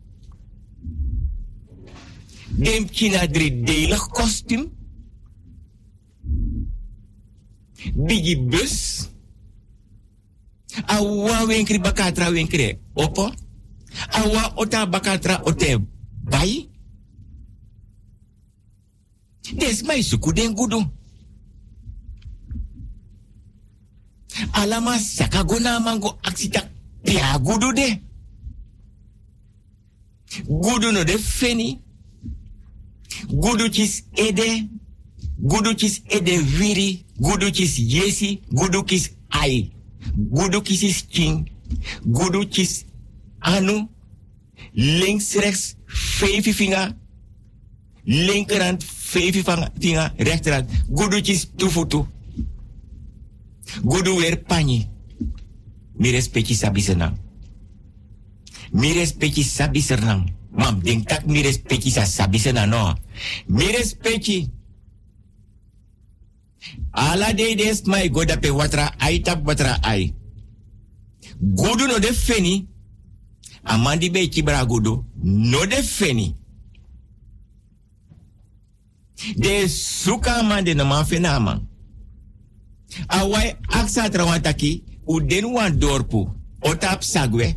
dem kina driedelig kostuum. Bigi bus. Awa wenkri bakatra wenkri. Opo. Awa ota bakatra ote bai. Des mai suku den gudu. Alama sakagona mango aksita pia gudu de. Gudu no de feni. Gudu chis ede. Gudu chis ede viri. Gudu chis yesi. Gudu chis ai. Gudu chis king. Gudu chis anu. Links, rechts, vijf vinger. Linkerhand, vijf vinger. Rechterhand. Gudu chis tufutu. Gudu weer pani. Mi respecti sabi senang. Mi respecti sabi senang. Mam, denk tak mi respecti sa sabi senang no. Mi respecti. Ala de des mai goda pe watra ai tap watra ai. Gudu no de feni. Amandi be kibra gudu no de feni. De suka amande no man fena man. Awai aksa trawantaki uden wan dorpu otap sagwe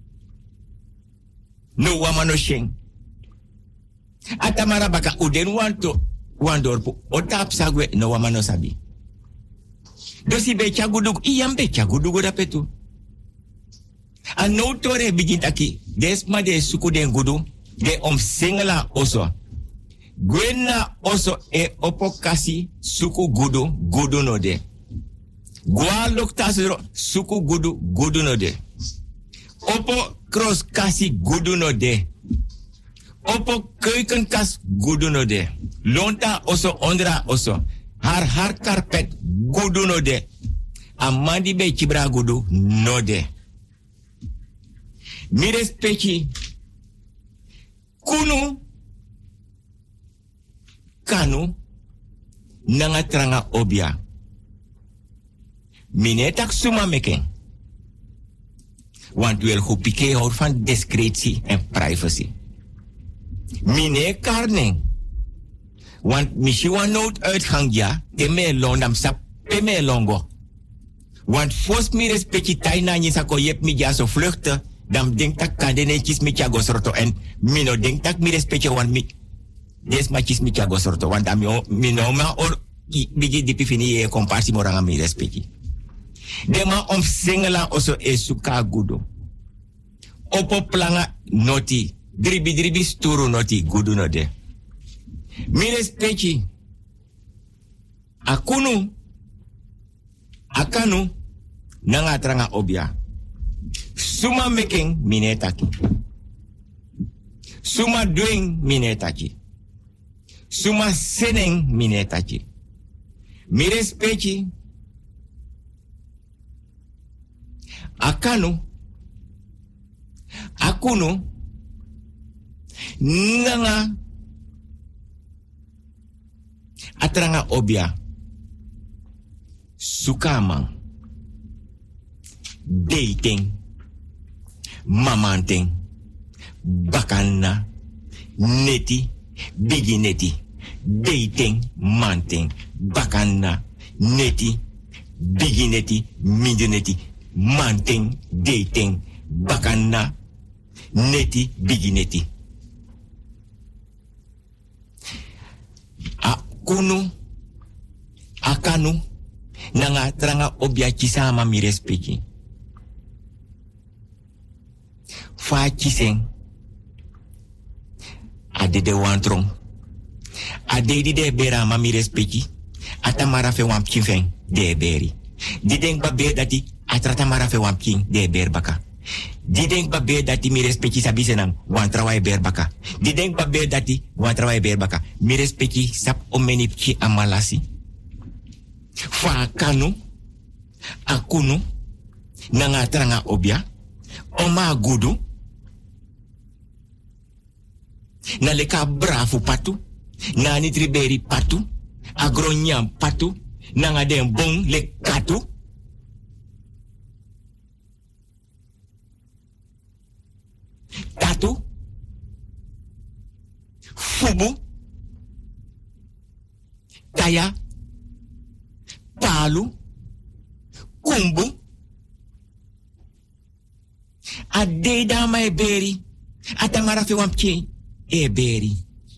no wamano sheng. Atamara baka uden wan to wan dorpu otap sagwe no wamano sabi. Dosi be chagudug iyam be chagudug rapetu. An no tore bigintaki desma de suku den gudu de om singela oso. Gwena oso e opokasi suku gudu gudu no de. Gwa loktasro suku gudu gudu no de. Opo cross kasi gudu no de. Opo keukenkas gudu no de. Lonta oso ondra oso. Har har carpet gudu no de. Amandi be chibra gudu no de. Mires pechi kunu kanu nanga tranga obia. Mine tak suma meken. Want wel goed pike houdt van discretie en privacy. Mine karning. Want misschien nood uitgang ja, te me londam sap, te me longo. Want fos mi respecti taina ni sako yep mi ja so vluchten, dan denk tak kandenetjes mi tja gosorto en mino denk tak mi respecti want mi des machis mi tja gosorto want ami mi no ma or bigi dipi fini e komparsi moranga mi respecti. Dema om singela oso e suka gudo. Opo planga noti. Dribi dribi sturu noti gudu no de. Mi respecti. Akunu. Akanu. Nanga tranga obia. Suma making minetaki. Suma doing minetaki. Suma sending minetaki. Mi respecti. Akanu, akunu, nanga, atranga obia, sukamang, dating, mamanting, bakana, neti, bigi neti, dating, manting, bakana, neti, bigi neti, midi neti. Manting, dating, bakana, neti, bigi neti. Akunu, akanu, nanga tranga obia chisama mi respecti. Fa chiseng, ade de wantrong, ade di de bera ma mi respecti, atamara fe wam chifeng de beri. Di denk ba be dati atrata marafe wamking de berbaka. Di denk ba be dati mi respecti sabi senang wan trawai berbaka. Di denk ba be dati wan trawai berbaka. Mi respecti sap omeni ki amalasi. Fa kanu akunu nanga tranga obia oma gudu na leka brafu patu na nitriberi patu agronyam patu nanga den bon le katu. Tatu. Fubu. Taya. Palu. Kumbu. Ade dama e beri. Atamara fe wampche e beri.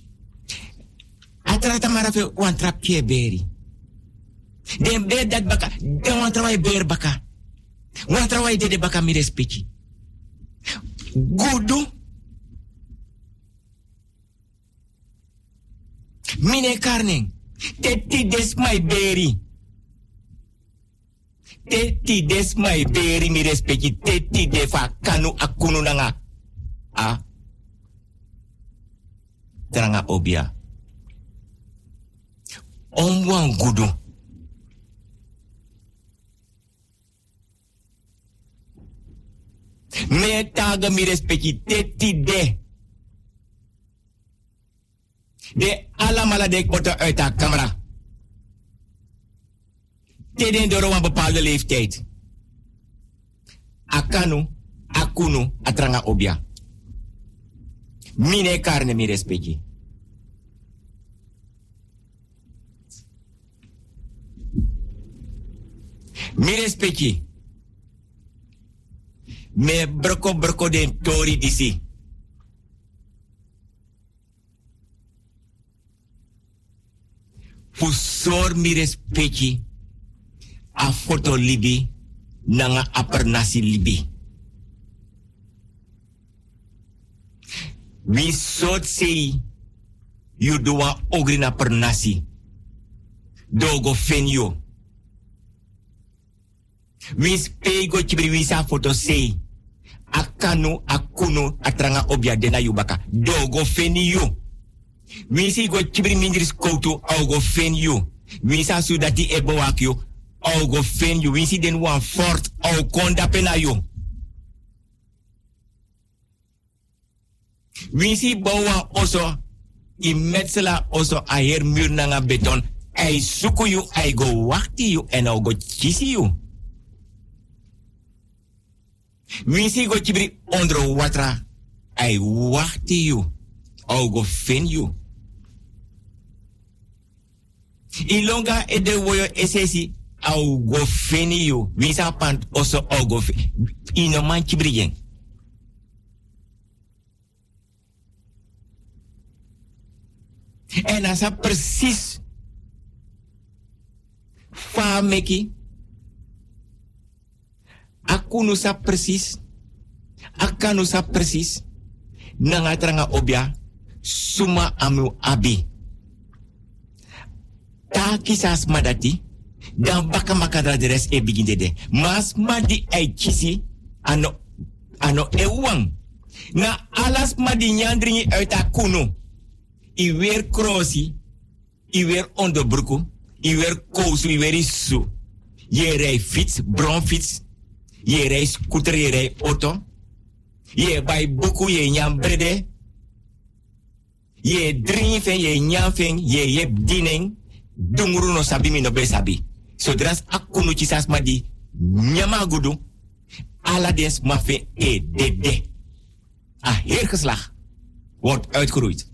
Atamara fe wantrap ke beri. Den be dat baka, den wan trawai ber baka. Wan trawai de de baka mi respecti. Gudu. Mine karning. Teti des my beri. Teti des my beri mi respecti. Teti de fa kanu akunu nanga. A. Tranga obia. Omwan gudu. Me taga mi respecti teti de. De alamala de kota uit haar camera. Teden door een bepaalde leeftijd. Akanu, akunu, atranga obia. Mine carne mi respecti. Mi respecti. Me broko broko den tori disi. Fusor mi respecti. A foto libi. Nanga aper nasi libi. Wie soort sei. You doa ogri na per nasi. Dogo fenyo. Wie spego chibri wisa foto sei. Akanu akuno atranga obia dena yubaka. Dogo fenyo. Wie si go chibri mindris koutu augo fenyo. Wie sa sudati ebo wakyo. Augo fenyo. Wie si den wan fort au konda penayo. Wie si bawa oso. I metsela oso a her muur nanga beton. Ai suku you, ai go wakti you en au go chisi you. Wisi go chibri ondro watra. Ai wakti you. Au go fin you. Ilonga e de woyo esesi. Au go fin you. Wisa pant oso au go fin. Ino man chibri yen. En asa precies fameki akunu sa precies akanu sa precies nanga tranga obia suma amu abi ta kisas madati dan baka makadra de res e begin de mas madi ai kisi ano ano ewang na alas madi nyandringi uit akunu I weer crossi, I weer onderbroeken, I weer kousu, I weer isu. Je rij fiets, bronfiets, je rij scooter, je rij auto. Je bij boku, je nyam brede. Je drinken, je nyam fen, je je dining. Dunguru no sabi mi no be sabi. Zodra akunu chisas ma di nyama gudu, ala des ma fe e de de. Ah, heer geslag wordt uitgeroeid.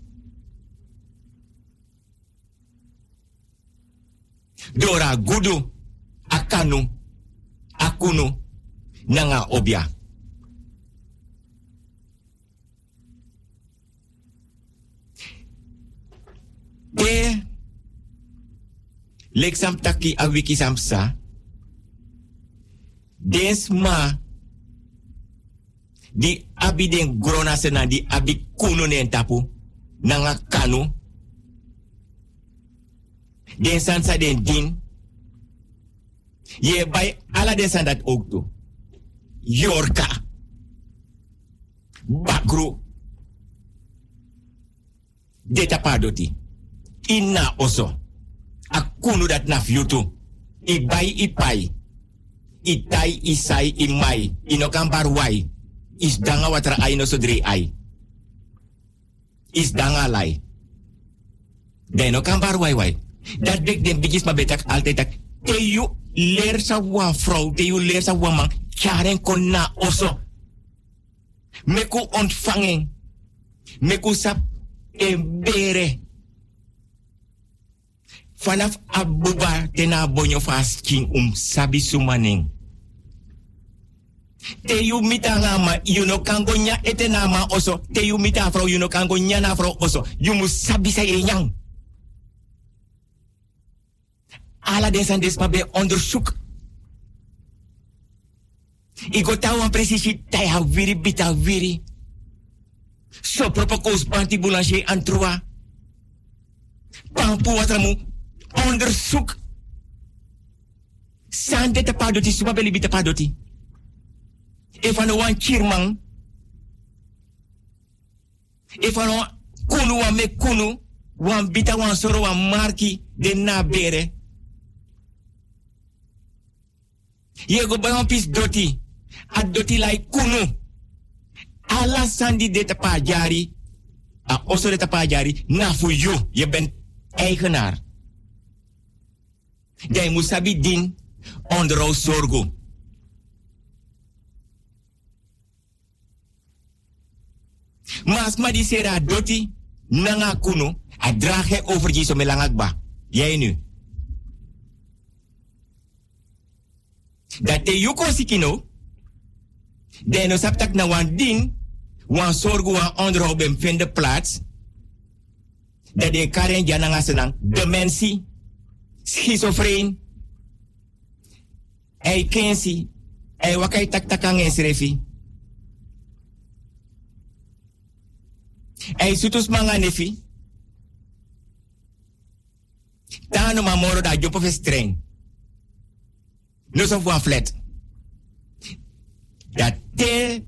Dora gudu, akanu, akunu, nanga obia. De leksam taki a wiki samsa. Densma di abi den grona sena di abi kunu nen tapu nanga kanu. Den sansa den din. Je bij alle den san dat ook toe. Yorka. Bakru. Deta padoti. Inna oso. Akunu dat na fyutu. I bai i pai. I tai i sai i mai. Ino kan barwai. Is danga watra ai no so drie ai. Is danga lai. Den no kan barwai wai. Dat dek den bigis ma betak altijd tak. Te you leer sa wan vrouw. Te you leer sa wan man. Kjaren kon na oso. Meku ontvangen. Meku sap en bere. Vanaf abuba tena bonyo fasking um sabi sumaning. Te you mita ngama. You no kango nya ete nama oso. Te you mita vrouw. You no kango nya na vrouw oso. You mu sabi sa enyang. Ala desan desma be onderzoek. Ik go tawa precies tai ha viri bita viri. So propokos banti boulanger antrua. Pampu watramu onderzoek. Sande te padoti suma beli bita padoti. Efano wan chirmang. Efano kunu wan me kunu. Wan bita wan soro wan marki de na bere. Ye go bij pis doti. A doti lai kunu. Ala sandi de tapajari. A oso de tapajari. Na voor you. Je bent eigenaar. Jij moet sabi din. Onderhoud zorgo. Mas ma di sera doti. Nanga kunu. A drage over je so melangakba. Jij nu. Dat te yuko sikino. De no saptak na wan ding. Wan sorgu wan onderhoud bem vinden plaats. Dat de karen jananga senang. Dementie. Schizofreen. Ei kensi. Ei wakai tak takang esrefi. Ei sutus manga nefi. Tano mamoro da jopo festreng. No so wan flat. Dat te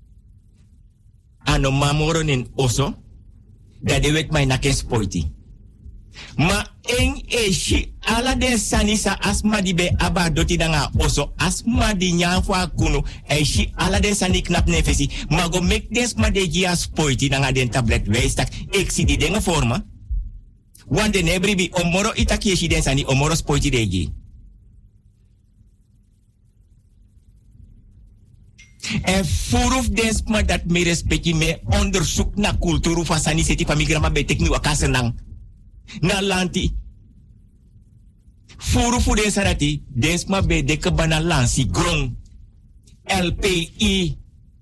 ano mamoro nin oso. Dat de wet mij naken spoiti. Ma en eshi ala den sanisa asma di be aba doti danga oso asma di nyafwa kuno eshi ala den sani knap nefesi ma go mek des ma de gia spoiti danga den tablet weistak ik si di denga forma wan de nebri bi omoro itaki eshi den sani omoro spoiti de gi en furuf des ma dat me respecti me onderzoek na kulturu van sani seti pamigrama be tekni wakasenang na lanti. Furu fu de sarati, desma be de kabana lansi grong. L P I.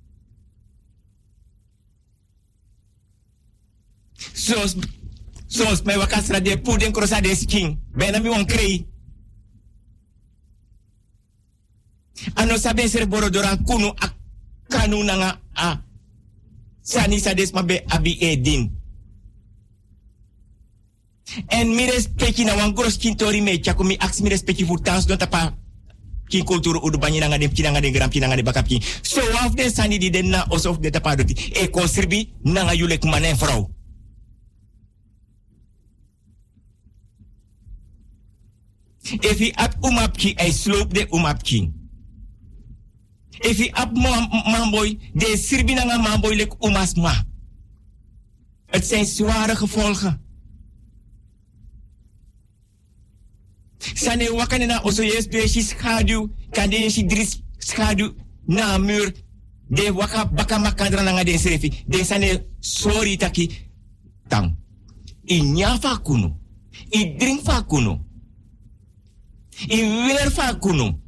Sos, sos me wakasra de puden krosa de skin. Bena mi wan krei. Ano sabe ser borodoran kunu ak kanu nanga a. Sani sa desma be abi edin. En mi respecti na wan gros kintori me chako mi aks mi respecti fu tans don tapa kin kulturu udu banyi nanga dem kinanga de gram kinanga de bakapki. So waf de sani di den na osof de tapa doti. E konsirbi nanga yulek manen vrouw. If he ap umapki ay slope de umapki. If he ap mamboy de sirbi nanga mamboy lek umasma. Het zijn zware gevolgen. Sane wakane na oso yes be shi schadu kande shi dris schadu na mur de waka baka makandra na ngade serefi de sane sorry taki tang inya fa kuno i drink fa kuno i weer fa kuno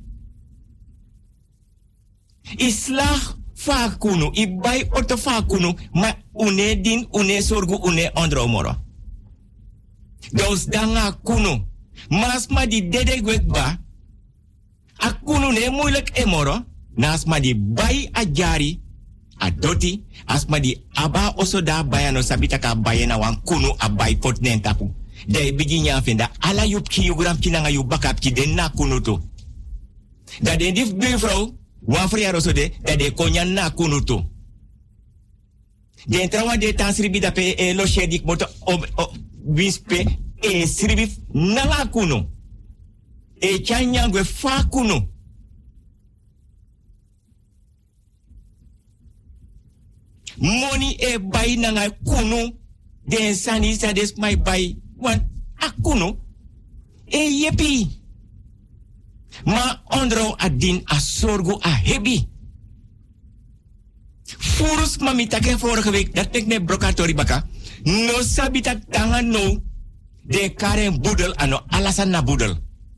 i slag fa kuno i bay auto fa kuno ma une din une sorgu une ondro moro dos danga kuno Masma di dede gwekba. Akunu ne moeilijk emoro. Nasma di bai a jari. A doti. Asma di aba oso da bayano sabita ka bayana wan kunu a bai pot nen tapu. De bigi nya fenda. Ala yup ki yugram ki nanga yu bakap ki den na kunu to. Da de dif buurvrouw. Wan friar oso de. Da de konya na kunu to. De trawa de tansribi da pe e lo shedik moto ob wispe. E siribif nala kuno. E chanyangwe fa kuno. Money e bay nanga kuno. Den sani sa des my bay. Wan akuno. E yepi. Ma ondro adin a sorgo a hebi. Furus mamitake vorige week. Dat tek ne brokatori baka. No sabita tanga no. De karen boedel ano alasan na boedel.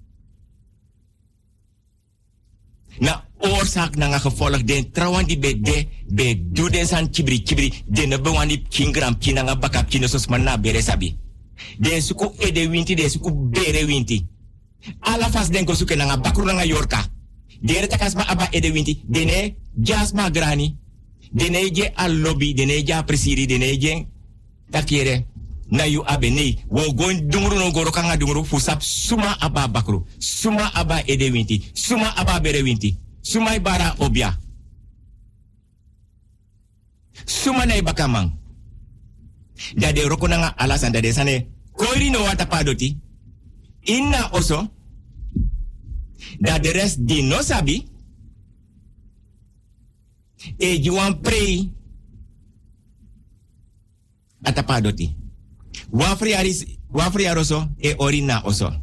Na oorzaak na nga gevolg den trouwan die be de be do den san kibri kibri de ne bewan die kingram kina nga bakap kina sos man na bere sabi. De suku ede winti de suku bere winti. Ala fas den ko suke na nga bakru na nga yorka. De re takas ma aba ede winti de ne jas ma grani. De ne je al lobby de ne ja presiri de ne je takire. Na yu abe nei wo goin dunguru no goro kanga dunguru fusap suma aba bakru suma aba ede winti suma aba bere winti suma ibara obia suma na ibakamang da de roko nanga alasan da de sane koiri no wata padoti inna oso da de rest di no sabi e juan prei atapadoti Wafri aris, wafri aroso e orina oso.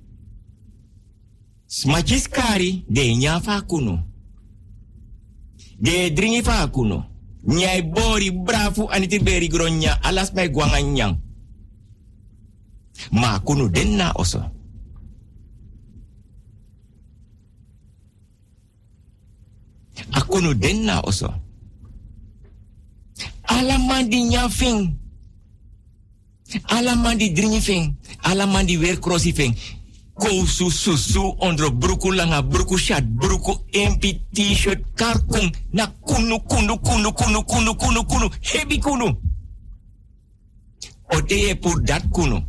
Smachis kari de nya fa kuno. De dringi fa kuno. Nyai bori brafu aniti beri gronya alas mai guanganyang. Ma kuno denna oso. Akunu den na oso. Alaman di nyafing. Alaman di dringifing. Alaman di weer crossifing. Kousu susu ondro bruku langa bruku shat bruku empi t-shirt karkung na kunu kunu kunu kunu kunu kunu kunu hebi kunu. Oteye pour dat kunu.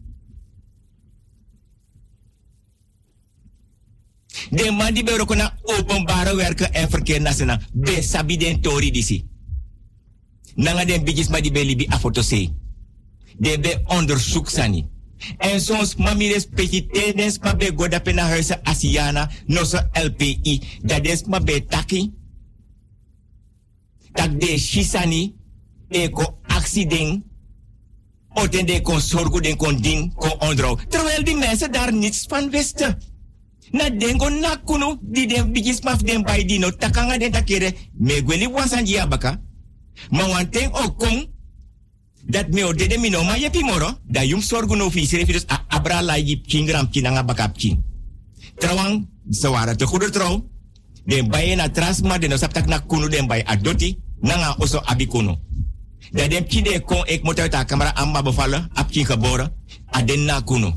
De man die beroko na openbare werken en verkeer nationaal. Be sabi den tori disi. Nanga den bigis ma die be libi afotose. De be onderzoek sani. En soms mami respecti tenens ma be goda pena huise Asiana no so L P I. Dat is ma be taki. Tak de shisani. Eko accident. Oten de kon zorgo den kon ding kon onderhoud. Terwijl die mensen daar niets van wisten. Na dengo na kunu di den bigis maf den bay di no takanga den takere me gweli wansan ji abaka. Ma wanteng okong dat me o dede mi no ma yepi moro da yum sorgu no fi sere a abra la yip kingram kinanga bakap kin. Trawang sawara te goeder trouw. Den bay na transma den no saptak na kunu den bay adoti nanga oso abikono. Da den kide kon ek motor ta kamera amma bevallen ap kin geboren aden na kunu.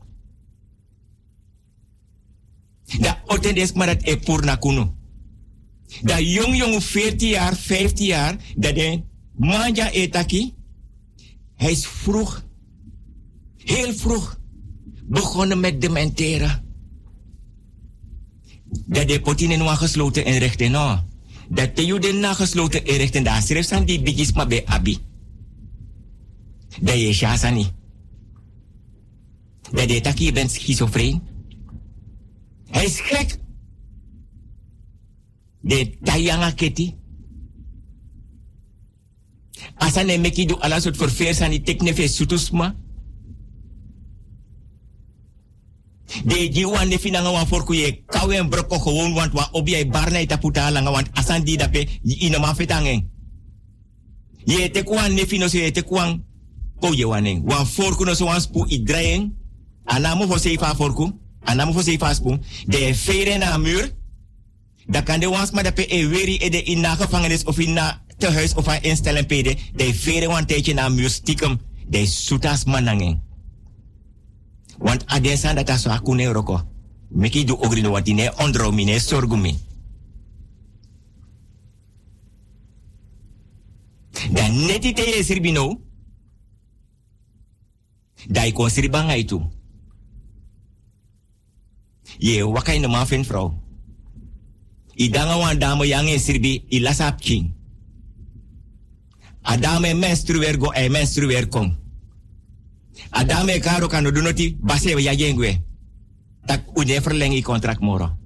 Da otendes maar dat e pour na kunu. Da jong jong veertien jaar, vijftien jaar, dat de manja etaki, hij is vroeg, heel vroeg, begonnen met dementeren. Dat de potine nu gesloten inrichten, no. Dat de juden na gesloten inrichten, daar schreef aan die bigis maar bij abi. Dat je shasani. Dat de taki bent schizofreen. Hij is gek. De tayanga keti. Asane meki do ala soort verveers aan die teknefe sutusma. De jiwan ne finanga wan forku ye kawe en broko gewoon want wa obi ay barna ita puta langa want asan di dape ina ma fetangen. Ye te kwan ne fino se te kwan ko ye wanen. Wan forku no so wan spu idrayen. Anamo fo seifa forku. Anamo fo seifa spu. De fere na muur. Dat kan de wans maar dat pe e weri e de in na gevangenis of in na tehuis of aan instellen pede. De vere wan tijdje na muur stiekem. De soetas manangen. Want adesan dat aso akune roko. Meki do ogrino wat ine ondro mine sorgumi. Dan neti te ye sirbino. Dai kon sirbanga itu. Ye wakai no mafin vrouw. Idanga wan dame yang e sirbi ilasap king. Adame menstruer go e menstruer kom. Adame karo kano dunoti base ya jengwe. Tak uje verlengi kontrak moro.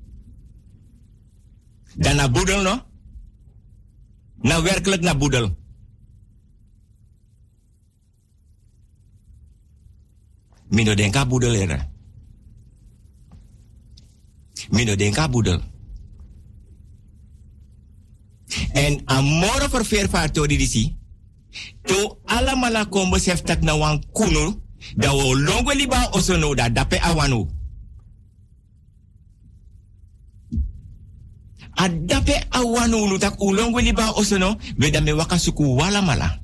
Dan na boedel no? Na werkelijk na boedel. Mino denka boedel era. Mino denka boedel. En amoro voor veervaartori disi. To alamala kombo seftak na wan kunu. Da wo longo liba osono da dape awanu. A dape awanu nu tak ulongo liba osono. Weda me wakasuku wala mala.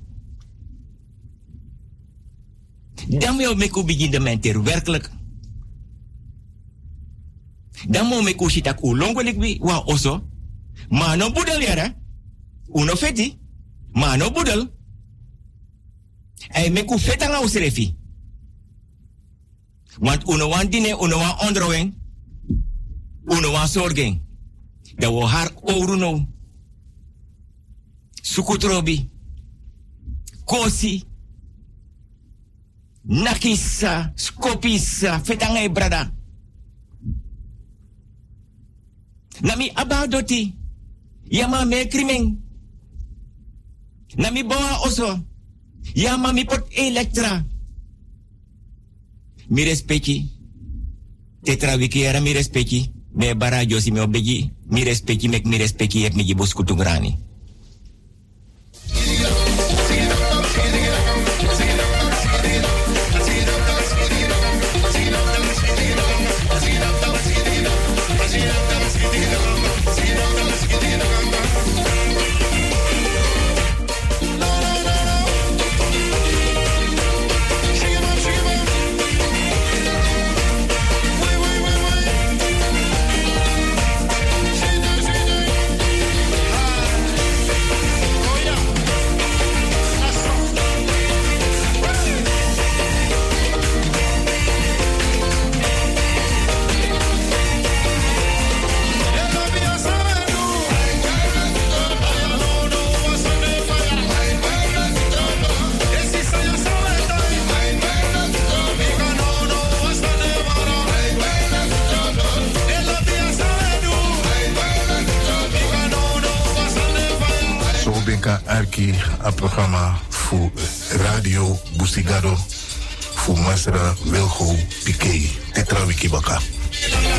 Dan me meku begin de menter werkelijk. Dan mo meku shitak ulongo likbi wa oso. Ma no budel yara. Uno feti. Ma no budel. Ay meku feta nga usrefi. Want uno wan dine, uno wan ondrowen. Uno wan zorgen. Da wo har oruno. Sukutrobi. Kosi. Nakisa. Skopisa. Feta nga brada. Nami abadoti. Yama me krimeng. Nami bawa oso. Yama mi pot elektra. Mi respecti. Tetra wiki era mi respecti. Me bara josi me obegi. Mi respecti mek mi respecti ep mi gibos kutungrani. benka arki a programma voor Radio Busigado voor Masra Wilgo Piqué. Tetra Wikibaka.